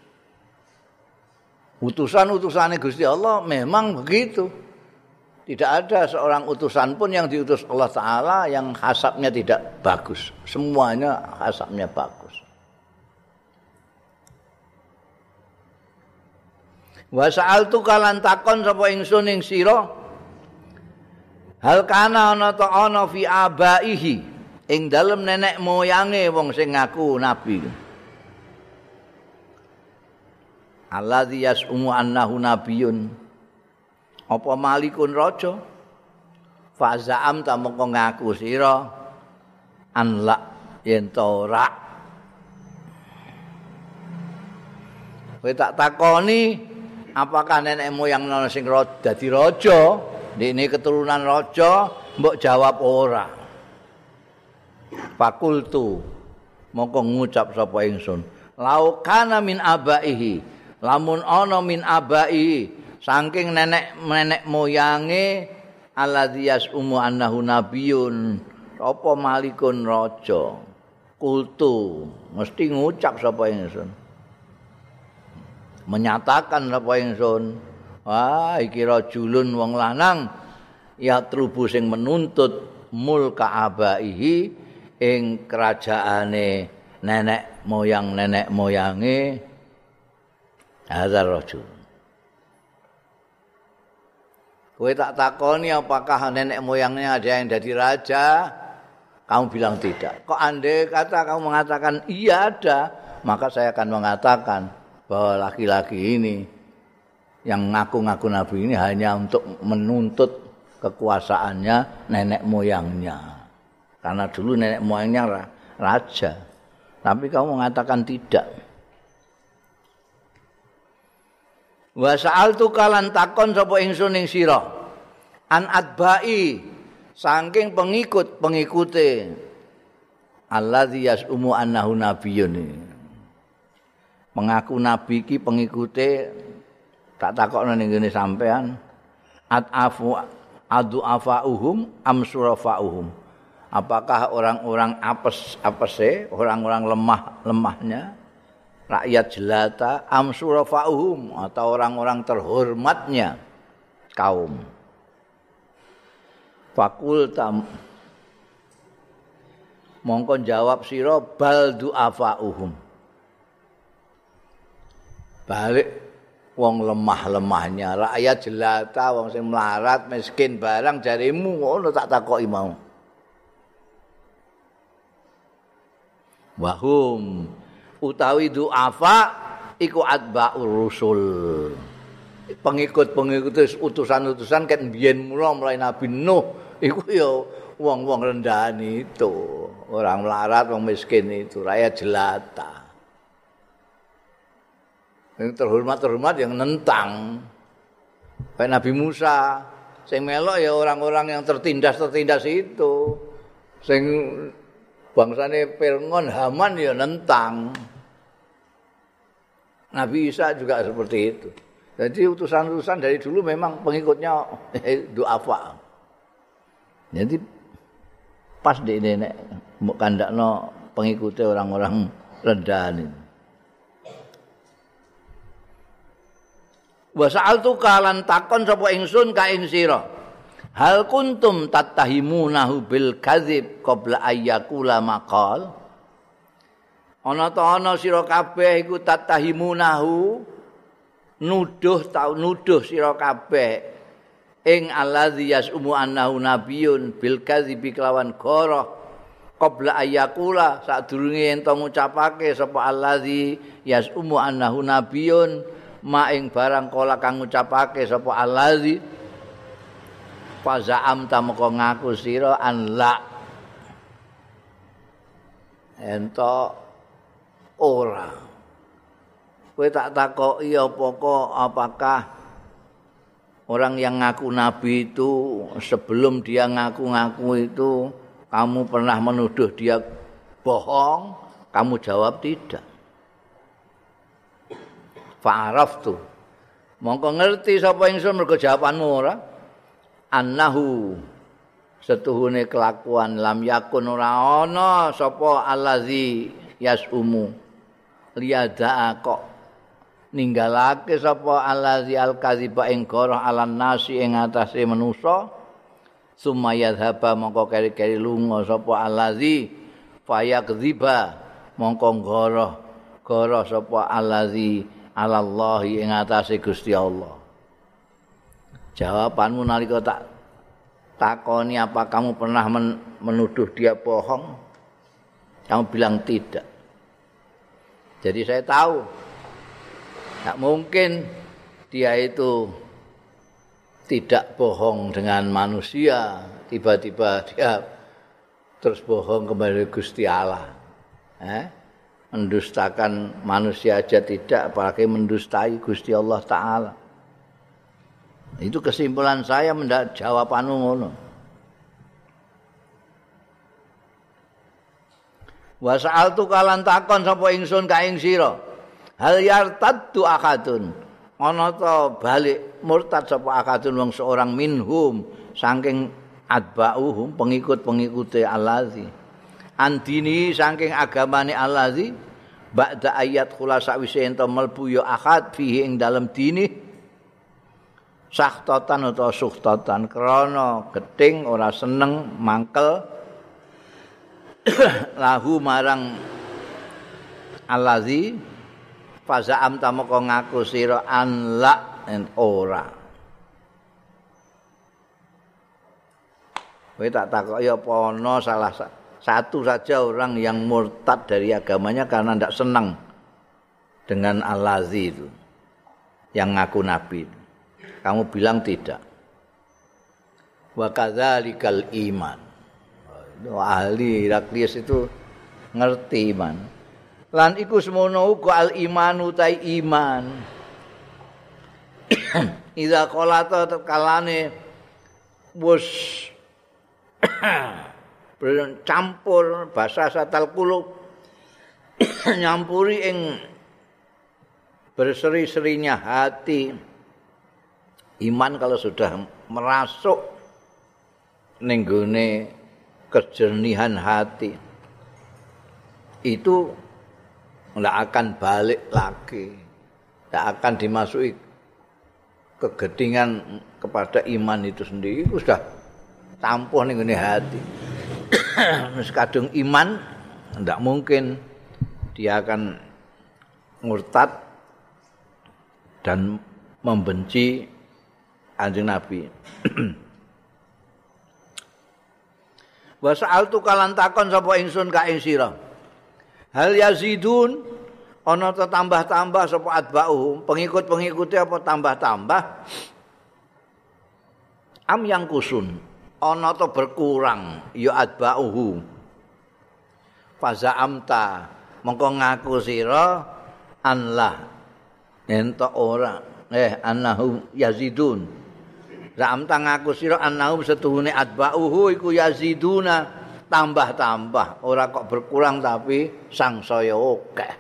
utusan-utusane Gusti Allah memang begitu. Tidak ada seorang utusan pun yang diutus Allah Ta'ala yang hasabnya tidak bagus. Semuanya hasabnya bagus. Wa sa'altu kalan takon sapa ingsun ing sira hal kana ana ta ana fi abaihi ing dalem nenek moyange wong sing ngaku nabi. Alladzi yasumu annahu nabiyyun. Apa malikun raja faza'am ta mongko ngaku sira an la yen ta ora kowe tak takoni apakah nenek moyang ana sing dadi raja ndekne keturunan raja mbok jawab ora fakultu mongko ngucap sapa ingsun lau kana min abaihi lamun ana min abaihi saking nenek-nenek moyange alladzi yasumu annahu nabiyyun apa malikun raja kultu mesti ngucap sapa ingsun menyatakan sapa ingsun wah iki rajulun wong lanang ya trubu sing menuntut mulka abaihi ing kerajaane nenek moyang nenek moyange hadzal rajul. Kowe tak takoni apakah nenek moyangnya ada yang jadi raja? kamu bilang tidak. Kok andai kata kamu mengatakan iya ada, maka saya akan mengatakan bahwa laki-laki ini yang ngaku-ngaku nabi ini hanya untuk menuntut kekuasaannya nenek moyangnya. Karena dulu nenek moyangnya raja. Tapi kamu mengatakan tidak. Wa sa'altu kalan takon sapa ingsun ing sira an adbai saking pengikut-pengikute alladzi yasumu annahu nabiyyun. Mengaku nabi iki pengikute tak takokno ning ngene sampean atafu adu afauhum am surafauhum. Apakah orang-orang apes apese, orang-orang lemah-lemahnya, rakyat jelata am surafauhum atau orang-orang terhormatnya kaum. Fakultam mongko jawab sira bal du'afauhum. Balik wong lemah-lemahnya, rakyat jelata, wong sing melarat, miskin barang jarimu ngono tak takoki mau. Wahum utawi du'afa iku atba'ur rusul. Pengikut-pengikut utusan-utusan kan biyen mula mulai Nabi Nuh iku ya wong-wong rendahan itu, orang melarat, wong miskin itu, rakyat jelata. Yang terhormat-terhormat yang nentang. Kayak Nabi Musa, sing melok ya orang-orang yang tertindas-tertindas itu. Sing bangsane Fir'aun, Haman ya nentang. Nabi Isa juga seperti itu. Jadi utusan-utusan dari dulu memang pengikutnya du'afa. Jadi pas di nenek kandakno pengikutnya orang-orang rendahan itu. Wa sa'altu kalan takon sapa ingsun ka ing sira. Hal kuntum tattahimunahu bil kadzib qabla ayyakula maqal. Ana ta ana sira kabeh iku tattahimunahu nuduh tau nuduh sira kabeh ing allazi yasumu annahu nabiyyun bil kadzibi kelawan goroh qabla ayyakula sadurunge ento ngucapake sapa allazi yasumu annahu nabiyyun ma ing barang kala kang ngucapake sapa allazi fazaam tameka ngaku sira an la ento ora kowe tak takoki apa kok apakah orang yang ngaku nabi itu sebelum dia ngaku-ngaku itu kamu pernah menuduh dia bohong? Kamu jawab tidak. Fa'araftu mongko ngerti sapa ingsun mergo jawabanmu ora annahu setuhune kelakuan lam yakun ora ana sapa allazi yasumu liyada kok ninggalake sapa allazi al-kadziba ing goroh alan nasi ing atase manusa sumayadhaba mongko keri-keri lunga sapa allazi fayakdziba mongko goroh goroh sapa allazi alallahi ing atase Gusti Allah. Jawabanmu nalika tak takoni apa kamu pernah men, menuduh dia bohong? Kamu bilang tidak. Jadi saya tahu tak mungkin dia itu tidak bohong dengan manusia, tiba-tiba dia terus bohong kepada Gusti Allah. Eh? Mendustakan manusia aja tidak, apalagi mendustai Gusti Allah Ta'ala. Itu kesimpulan saya mendak jawabanmu ngono. Wa sa'altu kalan takon sapa ingsun ka ing sira. Hal yartaddu akadun. Ana ta balik murtad sapa akadun wong seorang minhum saking atba'uhum pengikut-pengikute allazi. Andini saking agamane allazi ba'da ayat khulasa wise ento mlebu ya akad fihi ing dalem dini sahtatan utawa suhtatan krana gething ora seneng mangkel lahu marang allazi fazaam tamaka ngaku sira an la ora. Kowe tak takoki apa ana salah satu saja orang yang murtad dari agamanya karena tidak senang dengan Al-Ladzi itu, yang ngaku nabi. Kamu bilang tidak. Wa kadzalikal iman. Ahli Heraklius itu ngerti iman. Lan iku semono uga al-imanu tai iman. Iza qalata kalane wis bercampur basa satal kulub nyampuri ing berseri-serinya hati. Iman kalau sudah merasuk ning gone kejernihan hati itu tidak akan balik lagi, tidak akan dimasuki kegedingan kepada iman itu sendiri. Itu sudah campuh ning gone hati. Wis kadung iman tidak mungkin dia akan murtad dan membenci Kanjeng Nabi. Wa sa'altu kalan takon sapa ingsun ka ing sira. Hal yazidun ana ta tambah-tambah sapa atba'uhum, pengikut-pengikute apa tambah-tambah? Am yang kusun ana ta berkurang ya atba'uhu. Faza amta mongko ngaku sira anlah ento ora eh annahum yazidun. Za'am ngaku sira annahum setuhune atba'uhu iku yaziduna tambah-tambah, ora kok berkurang tapi sangsaya akeh.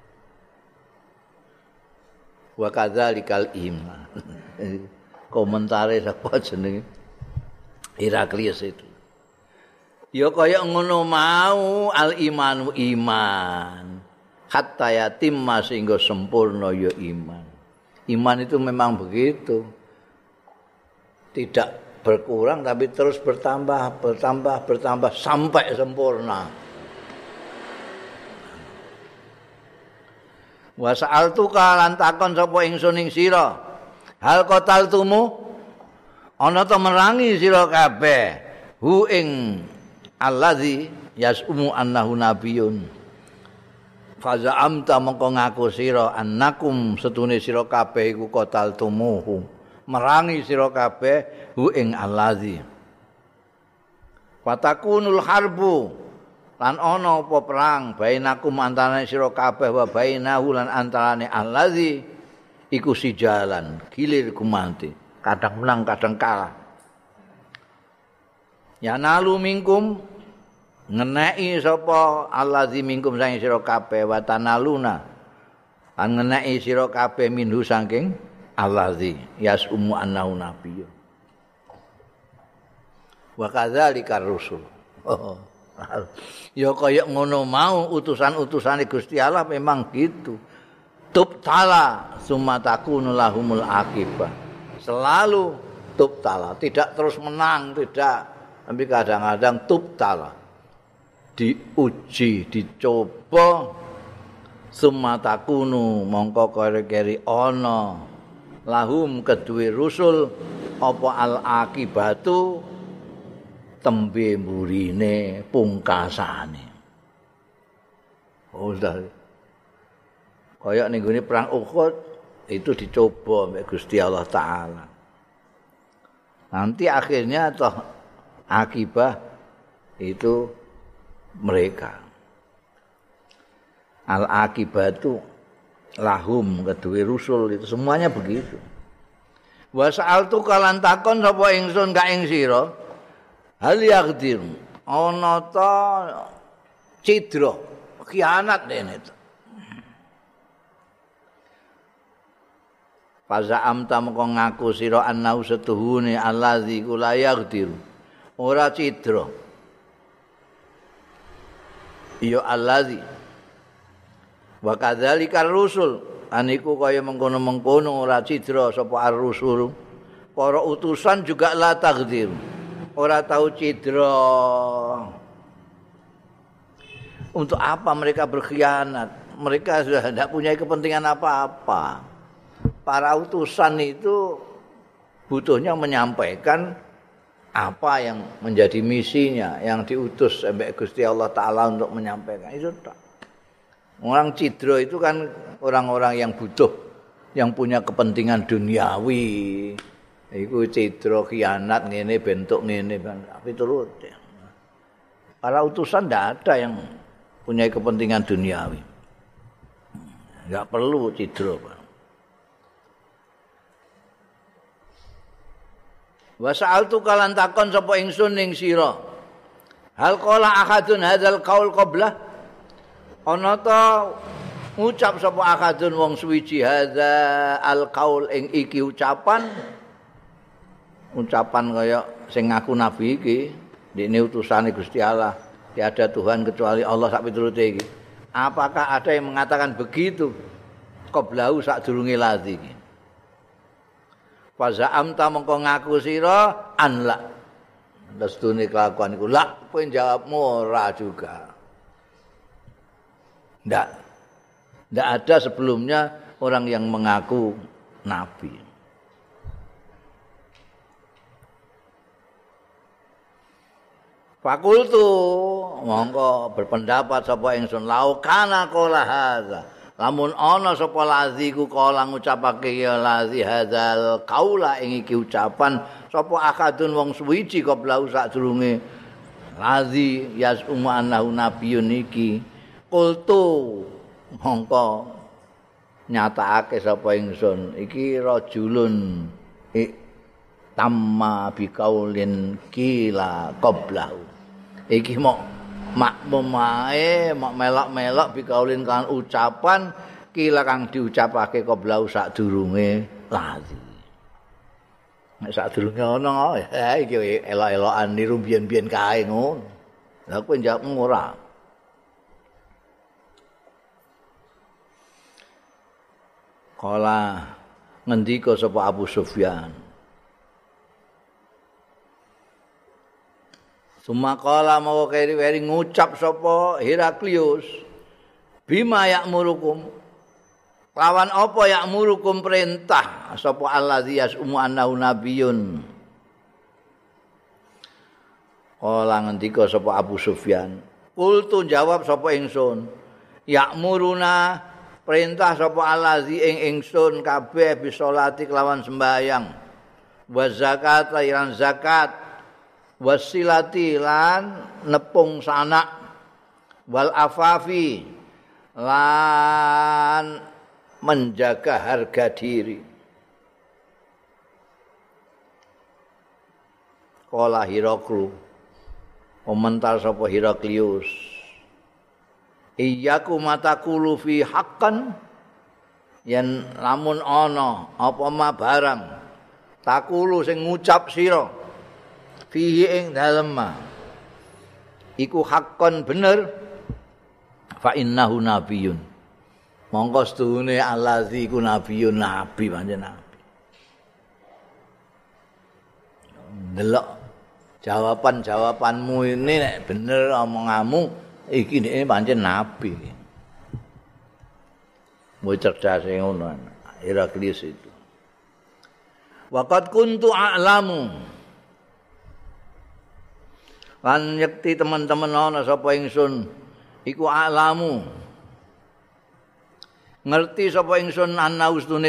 Wa kadzalikal iman. Komentare sapa jenenge Heraklius itu. Ya kaya ngono mau al-imanu iman. Hatta yatim sehingga sempurna ya iman. Iman itu memang begitu. Tidak berkurang tapi terus bertambah, bertambah, bertambah sampai sempurna. Wa sa'altuka lan takon sapa ingsun ing sira. Hal qataltumu ana ta merangi sira kabeh hu ing alladzi yasumu annahu nabiyyun. Faza amta mongko ngaku sira annakum setune sira kabeh iku qataltumuhu. Merangi sira kabeh hu ing allazi. Watakunul harbu lan ana apa perang bainakum antarané sira kabeh wa bainahu lan antarané allazi iku sijalan gilir kumanti, kadang menang kadang kalah. Ya nalu minkum ngeneki sapa allazi minkum saking sira kabeh wa tanaluna lan ngeneki sira kabeh minhu saking allazi yasumu annahu nabiyyun. Wa kadzalika rusul. Oh. Ya kaya ngono mau utusan-utusane Gusti Allah memang gitu. Tubtala summa takunu lahumul akibah. Selalu tubtala, tidak terus menang, tidak. Tapi kadang-kadang tubtala. Diuji, dicoba summa takunu mongko kere-kere ana lahum kedue rusul apa al akibatu tembe mburine pungkasane. Oh sudah. Kaya ning gone perang Uhud itu dicoba oleh Gusti Allah taala. Nanti akhirnya toh akibah itu mereka. Al akibatu lahum kedue rusul itu semuanya begitu. Wa sa'altu kalan takon sapa ingsun ka ing sira hal yaqdir ana ta cidra khianat dene to. Faza amta mengko ngaku sira annau setuhune allazi kula yaqdir ora cidra. Ya allazi wa kadzalika rusul aniku kaya mengkono-mengkono ora cidra sapa ar-rusul. Para utusan juga la taqdir. Ora tahu cidra. Untuk apa mereka berkhianat? Mereka sudah tidak punya kepentingan apa-apa. Para utusan itu butuhnya menyampaikan apa yang menjadi misinya, yang diutus sampai Gusti Allah Ta'ala untuk menyampaikan. Itu tak. Orang cidro itu kan orang-orang yang butuh, yang punya kepentingan duniawi. Iku cidro khianat ngene bentuk ngene tapi turut ya. Para utusan tidak ada yang punya kepentingan duniawi. Enggak perlu cidro, Pak. Wa sa'altu kalan takon sapa ingsun ning sira. Hal qala ahadun hadzal qaul qabla? Ana ta ngucap sapa ahadun wong suwiji hadza al qaul ing iki ucapan ucapan kaya sing ngaku nabi iki, dene utusane Gusti Allah. Tiada Tuhan kecuali Allah sak piturute iki. Apakah ada yang mengatakan begitu? Qablahu sak durunge ladzi iki. Fa za'amta mengko ngaku sira an la. Destune kelakuan iku la, kowe jawabmu ora juga. Ndak. Ndak ada sebelumnya orang yang mengaku nabi. Fakultu mongko berpendapat sapa ingsun laukana qala hadza. Lamun ana sapa lazi ku kala ngucapake ya lazi hadzal qaula ing iki ucapan sapa akadun wong suwiji qablau sadurunge lazi yasumu annahu nabiyyun iki qultu mongko nyatakake sapa ingsun iki rajulun tamma biqaulin kila qablahu iki mok makmum ae mok melok-melok bikaulin kan ucapan kila kang diucapake qablau sadurunge lazi. Nek sadurunge ana ya iki elok-elokan niru biyen-biyen kae ngono. Lah kowe njawab ora. Kala ngendika sapa Abu Sufyan. Sumakala mau keri-keri ngucap sapa Heraklius bima ya'murukum lawan apa ya'murukum perintah sapa allazi yasumu annahu nabiyyun. Kala ngendika sapa Abu Sufyan qultu jawab sapa ingsun ya'muruna perintah sapa allazi ing ingsun kabeh bisolati kelawan sembahyang wa zakat lan zakat wasilati lan nepung sanak wal afafi lan menjaga harga diri. Kala Hiraklu komentar sapa Heraklius iyyaku matakulu fi haqqan yen lamun ana apa ma barang takulu sing ngucap sira fihi ing dalem iku haqqan bener fa innahu nabiyyun mongko sedune allazi iku nabiyyun nabi pancen nabi. Delok jawaban-jawabanmu ini nek bener omonganmu iki nek pancen nabi. Mu cerdas ngono Heraklius itu. Waqad kuntu a'lamu lan yakti teman-teman ana sapa ingsun iku alamu ngerti sapa ingsun ana ustune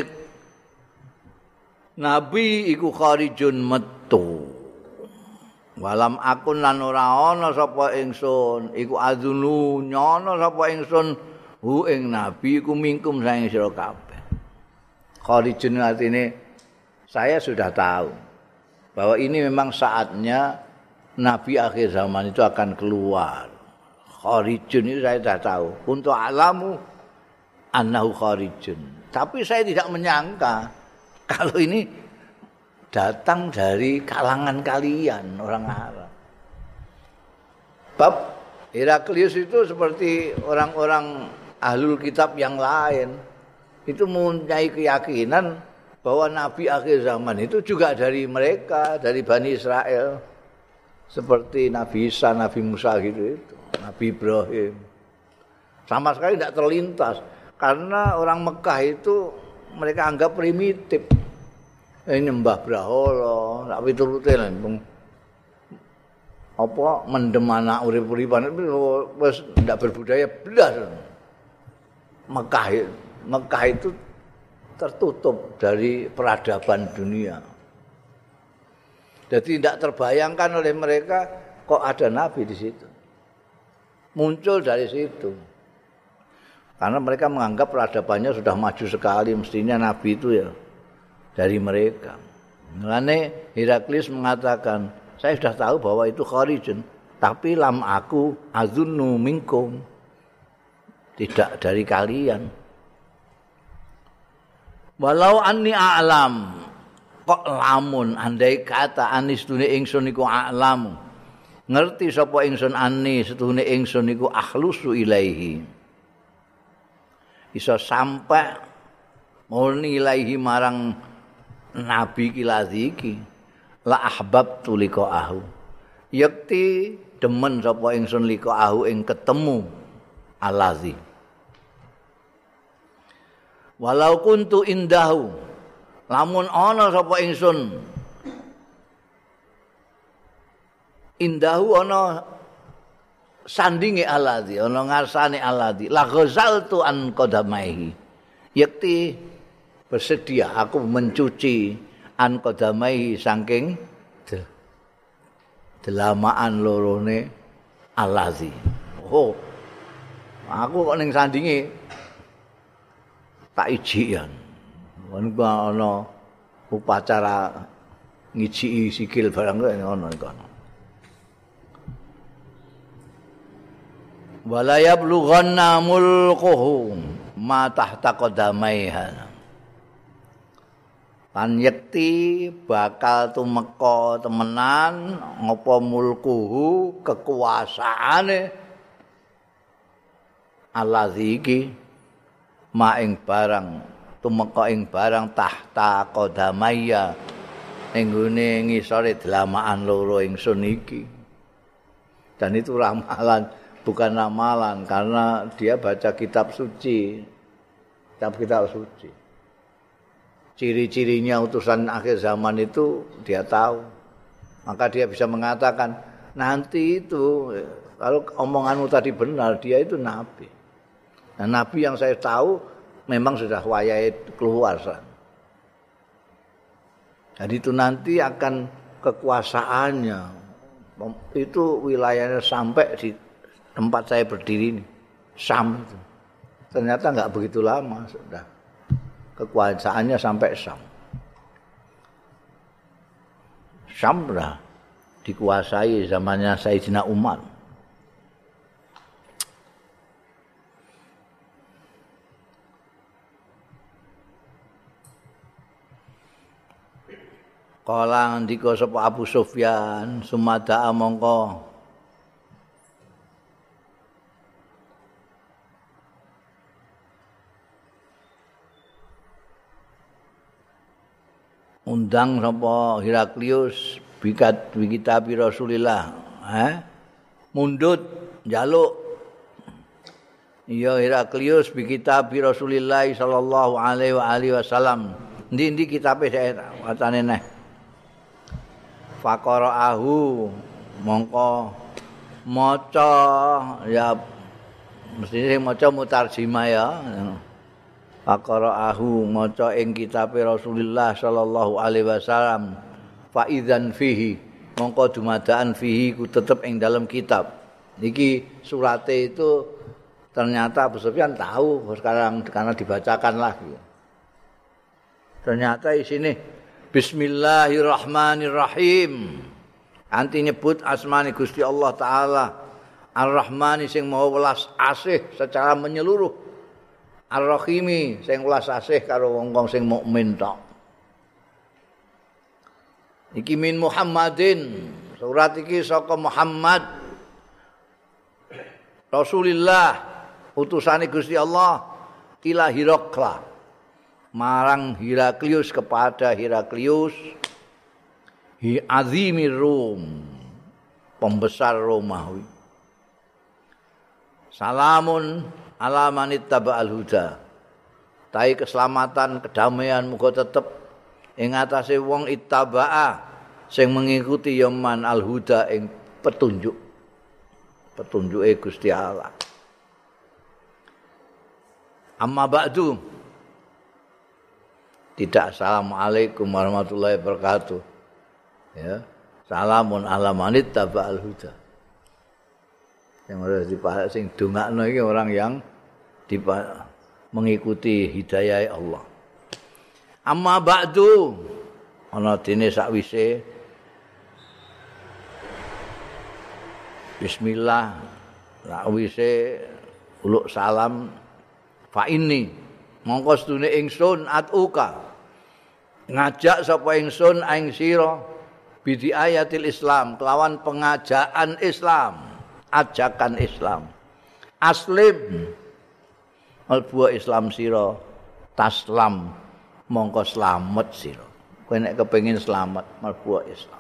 nabi iku kharijun metu walam akun lan ora ana sapa ingsun iku adzunu nyono sapa ingsun hu ing nabi iku mingkum saing sira kabeh. Kharijun artine saya sudah tahu bahwa ini memang saatnya Nabi akhir zaman itu akan keluar. Kharijun itu saya sudah tahu. Untuk alamu annahu kharijun. Tapi saya tidak menyangka kalau ini datang dari kalangan kalian orang Arab. Bab Heraklius itu seperti orang-orang ahlul kitab yang lain. Itu mempunyai keyakinan bahwa Nabi akhir zaman itu juga dari mereka, dari Bani Israel. Seperti Nabi Isa, Nabi Musa gitu itu, Nabi Ibrahim. Sama sekali tidak terlintas karena orang Mekah itu mereka anggap primitif. Ini nyembah brahala, tak piturute langsung apa mendem anak urip-uripan wis ndak berbudaya blas. Mekah Mekah itu tertutup dari peradaban dunia. Jadi tidak terbayangkan oleh mereka kok ada nabi di situ. Muncul dari situ. Karena mereka menganggap peradabannya sudah maju sekali, mestinya nabi itu ya dari mereka. Mulane Heraklius mengatakan, saya sudah tahu bahwa itu kharijun, tapi lam aku azunnu minkum. Tidak dari kalian. Walau anni a'lam, kok lamun andai kata anis dune ingsun iku a'lamu. Ngerti sapa ingsun ani setune ingsun iku akhlusu ilaihi. Iso sampai murni ilaihi marang nabi kiladzi iki. La ahbabtu liqa'ahu. Yakti demen sapa ingsun liqa'ahu ing ketemu alazi. Walau kuntu indahu, lamun ana sapa ingsun indahu ana sandinge alazi, ana ngarsane alazi, la ghazaltu an qadamaihi. Yakti bersedia aku mencuci an qadamaihi saking delamaan lorone alazi. Oh, aku kok ning sandinge tak ijian. Mun ana upacara ngijiki sikil barang kok ngono iku. Wala yablughanna mulquhu ma tahta qadamaiha. Lan yekti bakal tumeka temenan ngapa mulkuhu kekuasaane allazi iki ma ing barang tumeka ing barang tahta qadamaya ning gone ngisore delamaan loro ingsun iki. Dan itu ramalan, bukan ramalan karena dia baca kitab suci. Kitab-kitab suci. Ciri-cirinya utusan akhir zaman itu dia tahu. Maka dia bisa mengatakan nanti itu kalau omonganmu tadi benar, dia itu nabi. Nah, nabi yang saya tahu memang sudah wayahe keluar. Jadi itu nanti akan kekuasaannya itu wilayahnya sampai di tempat saya berdiri ini, Syam itu. Ternyata enggak begitu lama sudah kekuasaannya sampai Syam. Syam sudah dikuasai zamannya Sayyidina Umar. Kala ndika sapa Abu Sufyan sumada mongko undang sapa Heraklius bikat bikitabi Rasulillah, eh mundut njaluk ya Heraklius bikitabi Rasulillah sallallahu alaihi wa alihi wasallam. Ndi-ndi kitabe saya wacane neh. Faqara'ahu mongko maca ya mesti sing maca mutarjimah ya. Faqara'ahu maca ing kitabe Rasulullah sallallahu alaihi wasallam fa idzan fihi mongko dumadaan fihi ku tetep ing dalam kitab. Niki surate itu ternyata Abu Sufyan tahu sekarang karena dibacakan lagi. Ternyata di sini Bismillahirrahmanirrahim. Anti nyebut asmani Gusti Allah Ta'ala Ar-Rahmani sing maha welas asih secara menyeluruh, Ar-Rahimi sing welas asih karo wong-wong sing mukmin tok. Iki min Muhammadin, surat iki saka Muhammad Rasulillah utusane Gusti Allah ila Hirakla marang Heraklius kepada Heraklius hi azimir Rum, pembesar Romawi. Salamun ala manit taba'al huda. Tai keselamatan, kedamaian muga tetep ing atase wong ittaba'a sing mengikuti yaman al huda ing petunjuk. Petunjuke Gusti Allah. Amma ba'du. Tidak assalamualaikum warahmatullahi wabarakatuh. Ya. Salamun ala manit taba'al huda. Yang harus dipahami sing dongakno iki orang yang dipa, mengikuti hidayah Allah. Amma ba'du. Ana dene sakwise bismillah sakwise uluk salam fa inni mongko sedune ingsun atuka ngajak sapa ingsun ing sira bidi ayatil Islam kelawan pengajaan Islam ajakan Islam aslim albu Islam sira taslam mongko slamet sira kowe nek kepengin slamet mlebu Islam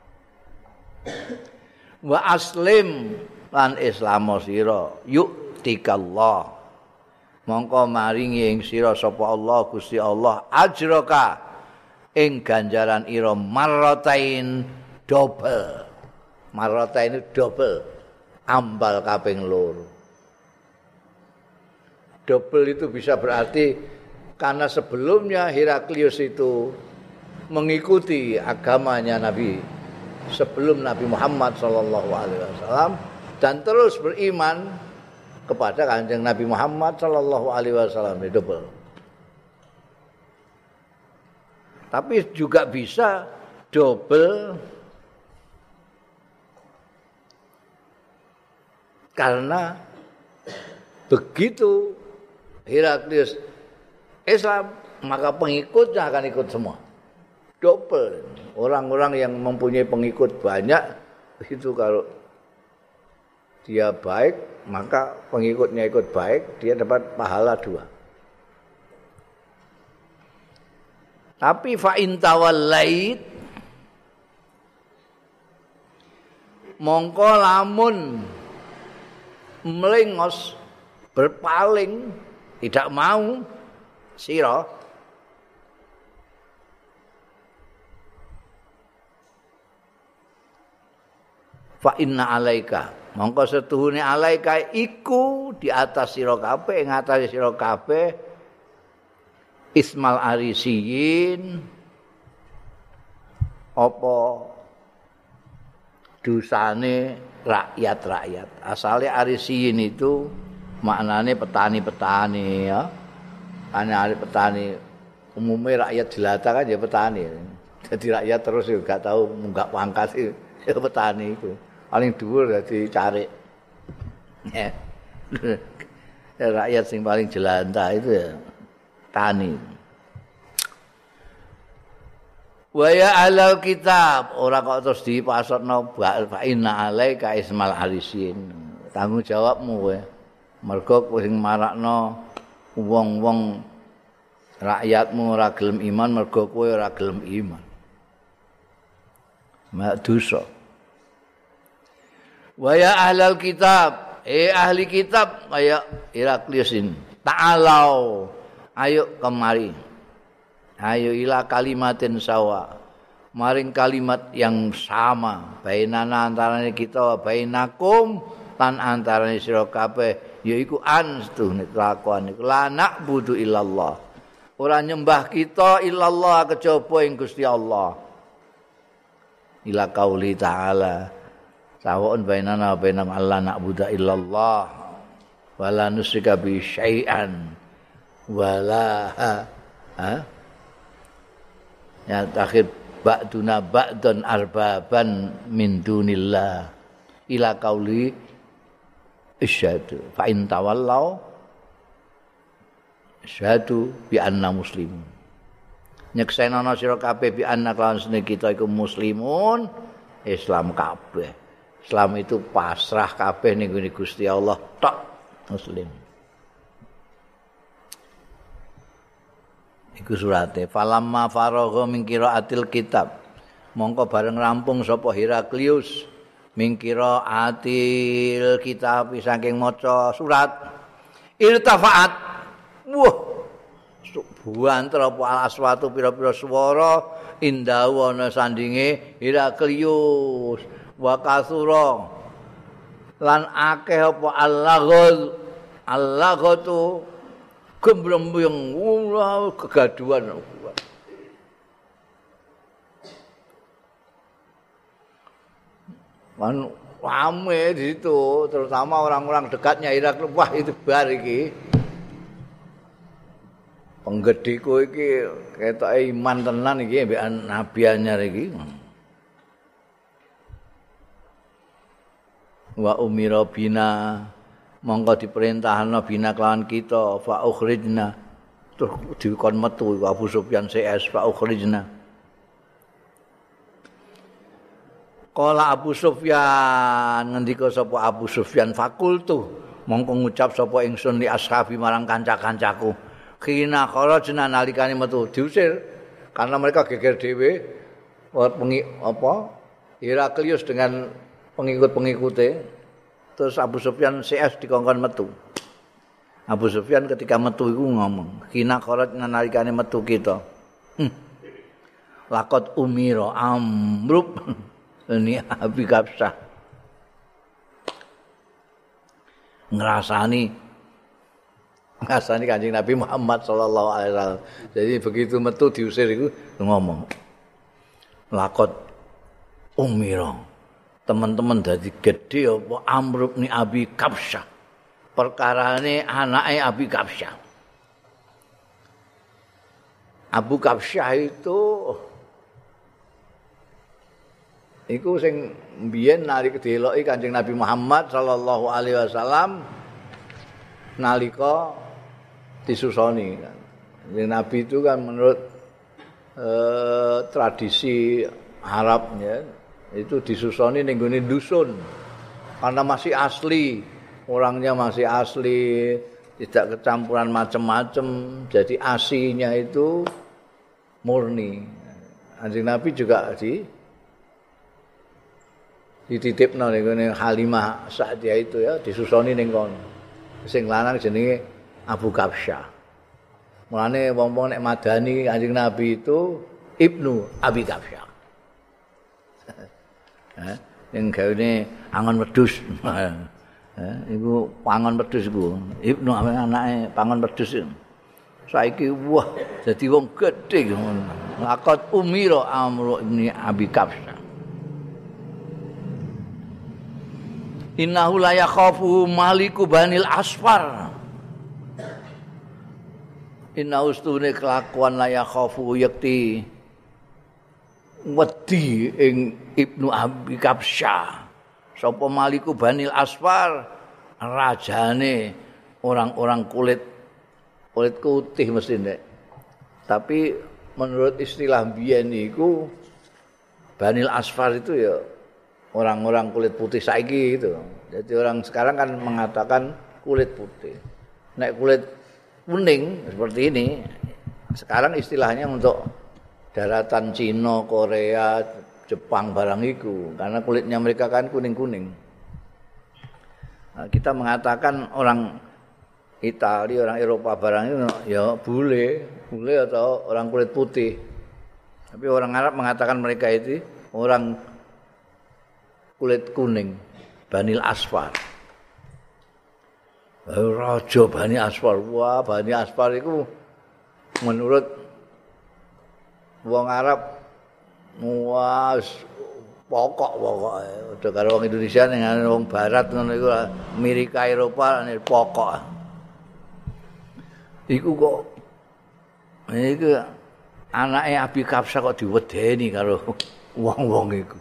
wa aslim lan islamo sira yu'tikallah mongko maringi ing sira sapa Allah Gusti Allah ajraka ing ganjaran ira marratain double marratain double ambal kaping loro double itu bisa berarti karena sebelumnya Heraklius itu mengikuti agamanya Nabi sebelum Nabi Muhammad sallallahu alaihi wasallam dan terus beriman kepada Kanjeng Nabi Muhammad sallallahu alaihi wasallam double. Tapi juga bisa double karena begitu Heraklius Islam maka pengikutnya akan ikut semua. Double. Orang-orang yang mempunyai pengikut banyak itu kalau dia baik maka pengikutnya ikut baik dia dapat pahala dua. Tapi fa in tawallait mongko lamun melengos berpaling tidak mau sira fa inna alaika mongko setuhune alaika iku di atas sira kabeh ing atas sira kabeh ismal arisiyin apa dosane rakyat-rakyat asale arisiyin itu maknane petani-petani ya ana petani umumnya rakyat jelata kan ya petani jadi rakyat terus juga tahu munggah pangkat ya petani itu paling dhuwur dadi cari. Ya. Rakyat sing paling jelantah itu ya tani. Wa ya ahlal kitab, ora kok terus dipasotno fa inna alaika ismal arisin. Tanggung jawabmu kowe. Mergo kowe sing marakno wong-wong rakyatmu ora gelem iman mergo kowe ora gelem iman. Mak dosa. Wa ya ahlal kitab, eh ahli kitab kaya Heraklius ini. Ta'alau, ayo kemari. Ayo ila kalimatin sawa. Maring kalimat yang sama bainana antarane kita bainakum lan antarane sira kabeh yaiku an setuhne kelakuan iku la na'budu illallah. Ora nyembah kita illallah kejaba ing Gusti Allah. Ila qauli ta'ala sawa'un bainana wa bainam alla na'budu illallah wala nusyrika bi syai'an wala ha ya takhir ba'duna ba'dan arbaban min dunillah ila qauli isyhadu fa in tawallau isyhadu bi anna muslimun nyeksenono sira kabeh bi anna lawan sene kita iku muslimun Islam kabeh. Islam itu pasrah kabeh ning Gusti Allah tok muslim. Iku surate falamma faragha min qiraatil kitab. Mongko bareng rampung sapa Heraklius min qiraatil kitab saking maca surat irtafaat. Wah. Buantar apa al-aswatu pira-pira swara indahu ana sandinge Heraklius. wa kasura lan akeh apa allaghul allaghatu gemblembung ula kegaduhan kan rame di situ terutama orang-orang dekatnya Irak wah itu bar iki penggedhiku iki ketoke iman tenan iki mbek nabi anyar iki wa umira bina mongko diperintahna bina kelawan kita fa ukhrijna terus dikon metu Abu Sufyan C S fa ukhrijna Kala Abu Sufyan ngendika sapa Abu Sufyan fakultu mongko ngucap sapa ingsun li ashabi marang kanca-kancaku khina kharajna nalikane metu diusir karena mereka geger dhewe pengi apa Heraklius dengan pengikut-pengikute terus Abu Sufyan C S dikongkon metu Abu Sufyan ketika metu iku ngomong khina kharajna nalikane metu kita hm. Laqad umira amrub ini Abi Kapsah ngrasani ngrasani Kanjeng Nabi Muhammad sallallahu alaihi wasallam. Jadi begitu metu diusir itu ngomong. Lakot umira. Teman-teman dadi gedhe apa Amr bin Abi Kapsah. Perkarane anake Abi Kapsah. Abu Kapsah itu iku sing mbiyen nalika deloki Kanjeng Nabi Muhammad sallallahu alaihi wasallam nalika disusoni kan. Nabi itu kan menurut eh, tradisi Arab ya, itu disusoni ning gone dusun. Karena masih asli, orangnya masih asli, tidak kecampuran macam-macam, jadi asinya itu murni. Kanjeng Nabi juga di dititipno ning gone Halimah Sa'diyah itu ya, disusoni ning kono. Sing lanang jenenge Abu Kapsah. Mulane wong-wong nek madani Kanjeng Nabi itu Ibnu Abi Kapsah. Heh, yang gawe angon wedhus. Heh, iku pangon wedhus iku. Ibnu anake pangon wedhus. Saiki wah dadi wong gedhe ngono. Laqad umira Amr bin Abi Kapsah. Innahu la yakhafu maliku banil asfar. Inna ustune kelakuan la yakhafu yakti wedi ing Ibnu Abi Kapsah. Sapa maliku banil asfar rajane orang-orang kulit kulit putih mesti nek. Tapi menurut istilah biyen niku banil asfar itu ya orang-orang kulit putih saiki gitu. Jadi orang sekarang kan mengatakan kulit putih. Nek kulit kuning seperti ini, sekarang istilahnya untuk daratan Cina, Korea, Jepang barang itu. Karena kulitnya mereka kan kuning-kuning. Nah, kita mengatakan orang Italia, orang Eropa barang itu ya bule, bule atau orang kulit putih. Tapi orang Arab mengatakan mereka itu orang kulit kuning, Banil Asfar. Raja Bani Asfar. Wah, Bani Asfar itu menurut wong Arab wah pokok pokok. Udah karo wong Indonesia ning wong barat ngono iku Amerika Eropa nek pokok. Iku kok iku anake Abi Kapsah kok diwedeni karo wong-wong iku.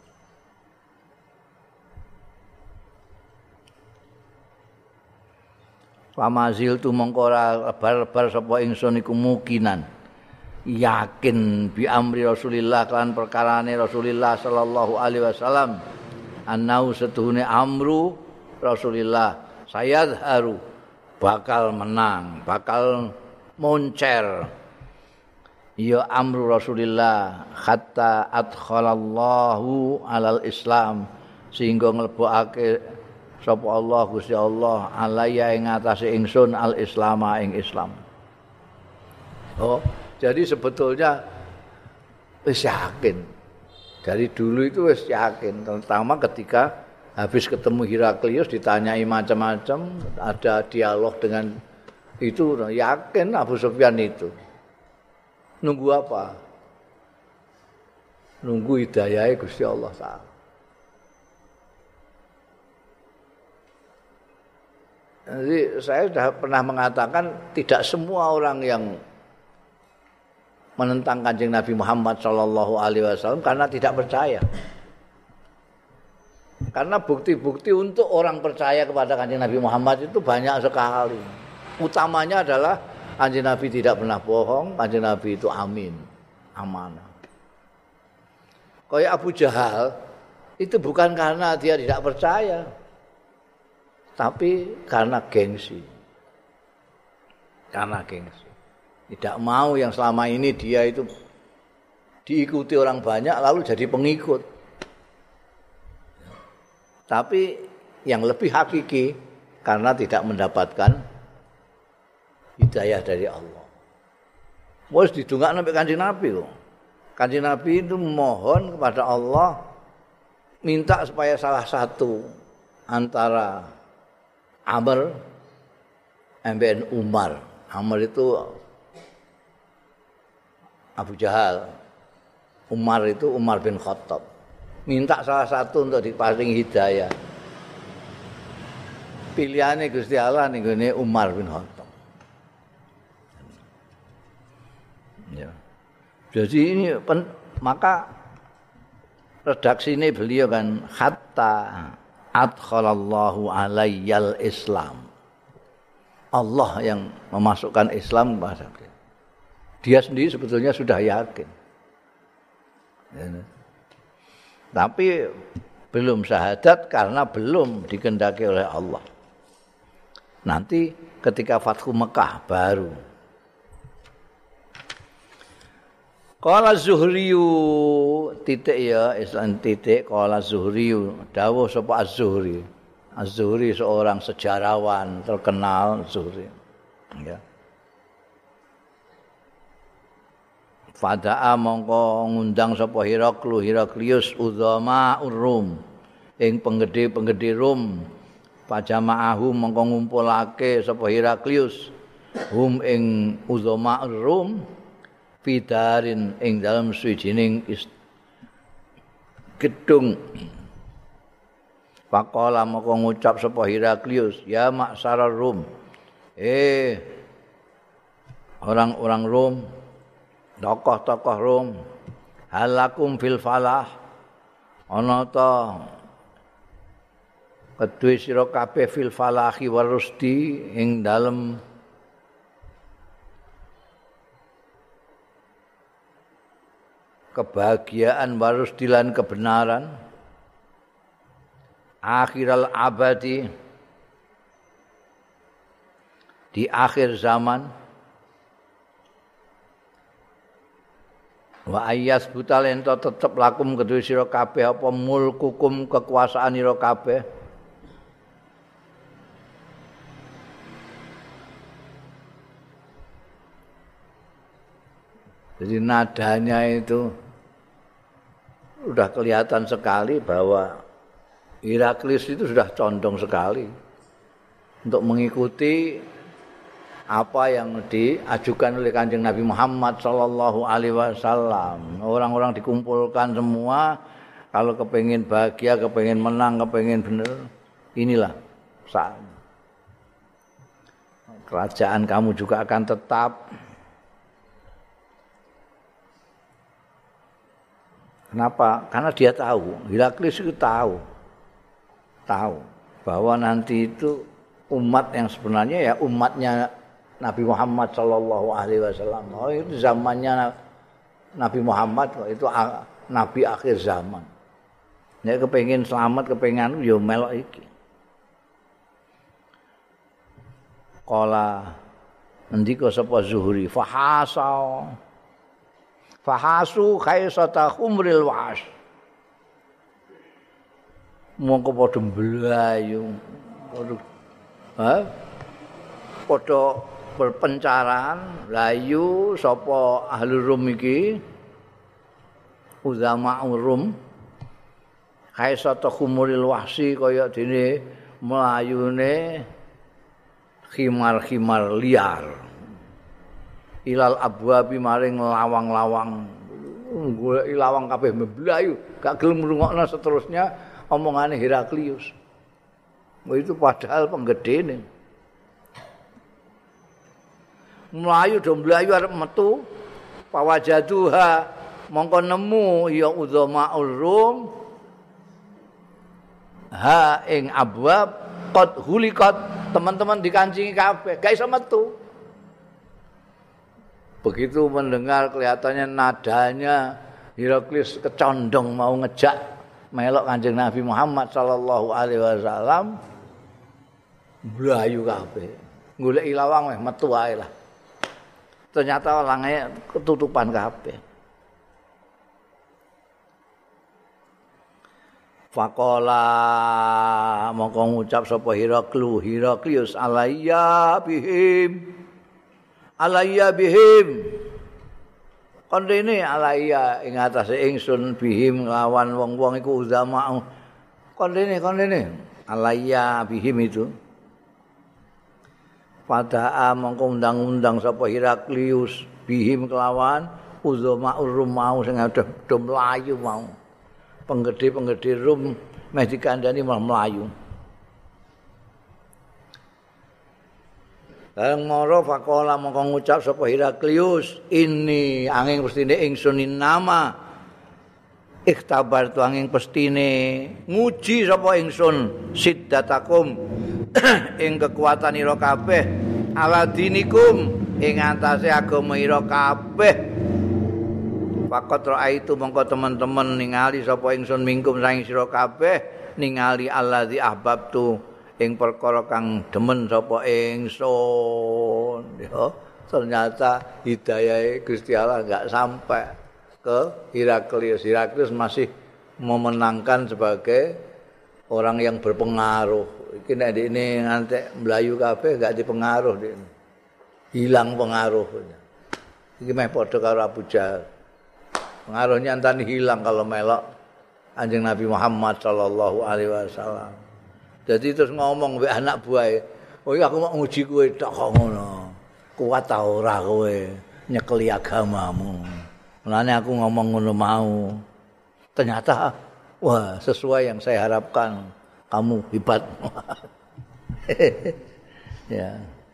Pamazil tu mongko ora lebar-lebar sapa ingsun iku mukinan yakin bi amri Rasulillah kan perkarane Rasulillah sallallahu alaihi wasallam annau setuhune amru Rasulillah sayadharu bakal menang bakal moncer ya amru Rasulillah hatta adkhalallahu alal Islam sehingga nglebokake sapa Allah Gusti Allah alaya ing atase ingsun al islama ing Islam. Oh, jadi sebetulnya wis yakin Dari dulu itu wis yakin, terutama ketika habis ketemu Heraklius ditanyai macam-macam, ada dialog dengan itu, yakin Abu Sufyan itu. Nunggu apa? Nunggu hidayah Gusti Allah Ta'ala. Jadi saya sudah pernah mengatakan tidak semua orang yang menentang Kanjeng Nabi Muhammad Shallallahu Alaihi Wasallam karena tidak percaya. Karena bukti-bukti untuk orang percaya kepada Kanjeng Nabi Muhammad itu banyak sekali. Utamanya adalah Kanjeng Nabi tidak pernah bohong, Kanjeng Nabi itu amin, amanah. Kayak Abu Jahal itu bukan karena dia tidak percaya, tapi karena gengsi. Karena gengsi. Tidak mau yang selama ini dia itu diikuti orang banyak lalu jadi pengikut. Tapi yang lebih hakiki karena tidak mendapatkan hidayah dari Allah. Wes didongakno sampai Kanjeng Nabi kok. Kanjeng Nabi itu mohon kepada Allah minta supaya salah satu antara Amr dan Umar. Amr itu Abu Jahal, Umar itu Umar bin Khattab. Minta salah satu untuk diparing hidayah. Pilihannya Gusti Allah nih ini Umar bin Khattab. Ya. Jadi ini pen, maka redaksi ini beliau kan hatta adkhalallahu alayyal Islam. Allah yang memasukkan Islam kepada dia. Dia sendiri sebetulnya sudah yakin. Ya. Tapi belum syahadat karena belum dikehendaki oleh Allah. Nanti ketika Fathu Mekah baru. Qala Zuhriyu titik ya, Islam titik qala Zuhriyu dawuh sapa Az-Zuhri. Az-Zuhri seorang sejarawan terkenal Zuhri. Ya. Fada'a mongko ngundang sapa Heraklu Heraklius uzama Rum ing penggede-penggede Rum pajama'ahu mongko ngumpulake sapa Heraklius hum ing uzama Rum fidarin ing dalam suwijining gedung. Faqala mongko ngucap sapa Heraklius ya maksara Rum eh orang-orang Rum, tokoh-tokoh Rom, halakum fil falah ana ta kedue sira kabeh fil falahi warusdi ing dalem kebahagiaan warusdi lan kebenaran akhiral abadi di akhir zaman. Wa ayyas butal ento tetep lakum kedue sira kabeh apa mulkukum kekuasaan sira kabeh. Jadi nadanya itu sudah kelihatan sekali bahwa Heraklius itu sudah condong sekali untuk mengikuti apa yang diajukan oleh Kanjeng Nabi Muhammad Sallallahu Alaihi Wasallam. Orang-orang dikumpulkan semua, kalau kepengin bahagia, kepengin menang, kepengin benar, inilah saatnya. Kerajaan kamu juga akan tetap. Kenapa? Karena dia tahu, Heraklius itu tahu, tahu bahwa nanti itu umat yang sebenarnya ya umatnya Nabi Muhammad Sallallahu Alaihi Wasallam. Oh itu zamannya Nabi Muhammad, itu Nabi akhir zaman. Ya kepengin selamat, kepengin yo melok iki. Qala ndika sapa Zuhri fahasa fahasu khaisata khumril was. Mongko padha mblayu. Padha ha? Padha berpencaran layu sapa ahli Rum iki uzama Rum kaisata khumuril wahsi kaya dene mlayune khimar-khimar liar ilal abwabi maring lawang-lawang golek lawang kabeh mblayu gak gelem ngrungokno seterusnya omongane Heraklius. Oh, itu padahal penggedene mlayu do mlayu arep metu pawajaduha mongko nemu ya udzamaul rum ha ing abwab qad hulikat teman-teman dikancingi kabeh gak iso metu. Begitu mendengar kelihatannya nadanya Heraklius kecondong mau ngejak melok Kanjeng Nabi Muhammad sallallahu alaihi wasallam mlayu kabeh golek lawang weh metu wae lah. Ternyata orangnya ketutupan kabeh. Faqala mongko ngucap sapa Heraklu Heraklius alayya bihim alayya bihim kon rene alayya ing atase ingsun bihim lawan wong-wong iku uzama kon rene kon rene alayya bihim itu Fada'a mongko undang-undang sapa Heraklius bihim kelawan uzama Rum mau sing ada do mlayu mau. Penggede-penggede Rum meh dikandani malah mlayu. Bareng mara faqala mongko ngucap sapa Heraklius ini angin pestine ingsun nama ikhtabar tu angin pestine nguji sapa ingsun siddatakum ing kekuatan ira kabeh ala dinikum ing atase agama ira kabeh. Faqat raaitu mongko teman-teman ningali sapa ingsun mingkum saing sira kabeh ningali allazi ahbabtu ing perkara kang demen sapa ingsun. Ya, ternyata hidayahe Gusti Allah enggak sampai ke Heraklius. Heraklius masih memenangkan sebagai orang yang berpengaruh. Iki nek ini nganti mlayu kabeh enggak dipengaruh ini. Hilang pengaruhnya. Iki meh padha karo Abu Jahal. Pengaruhnya antani hilang kalau melok Kanjeng Nabi Muhammad sallallahu alaihi wasallam. Jadi terus ngomong mbek anak buahe, "Oh iya aku mau nguji kowe tok kok ngono. Kuat ta ora kowe nyekeli agamamu." Mulane aku ngomong ngono mau. Ternyata wah, sesuai yang saya harapkan. Kamu hebat. Ya.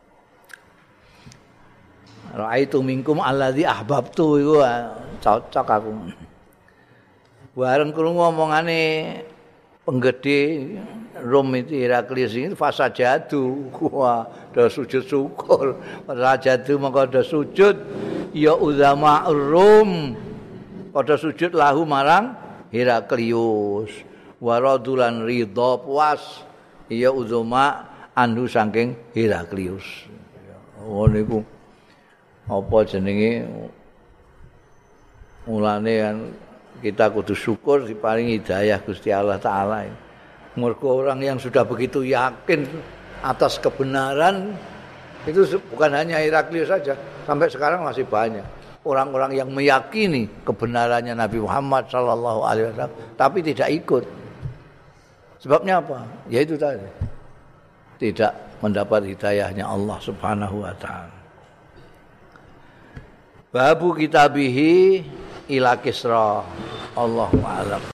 Ra'aitu minkum allazi ahbabtu iku cocok aku. Bareng krungu omongane penggede Rum itu Heraklius itu fasajadu. Wah, do sujud syukur. Fasajadu mongko do sujud ya uzama Rum. Padha sujud lahu marang Heraklius. Waradulan ridha puas ya uzama anhu saking Heraklius. Oh niku apa jenenge mulane kan kita kudu syukur diparingi hidayah Gusti Allah taala. Mergo orang yang sudah begitu yakin atas kebenaran itu bukan hanya Heraklius saja, sampai sekarang masih banyak orang-orang yang meyakini kebenarannya Nabi Muhammad sallallahu alaihi wasallam tapi tidak ikut. Sebabnya apa? Ya itu tadi. Tidak mendapat hidayahnya Allah Subhanahu wa taala. Babu kitabihi ila Kisra. Allahu a'lam.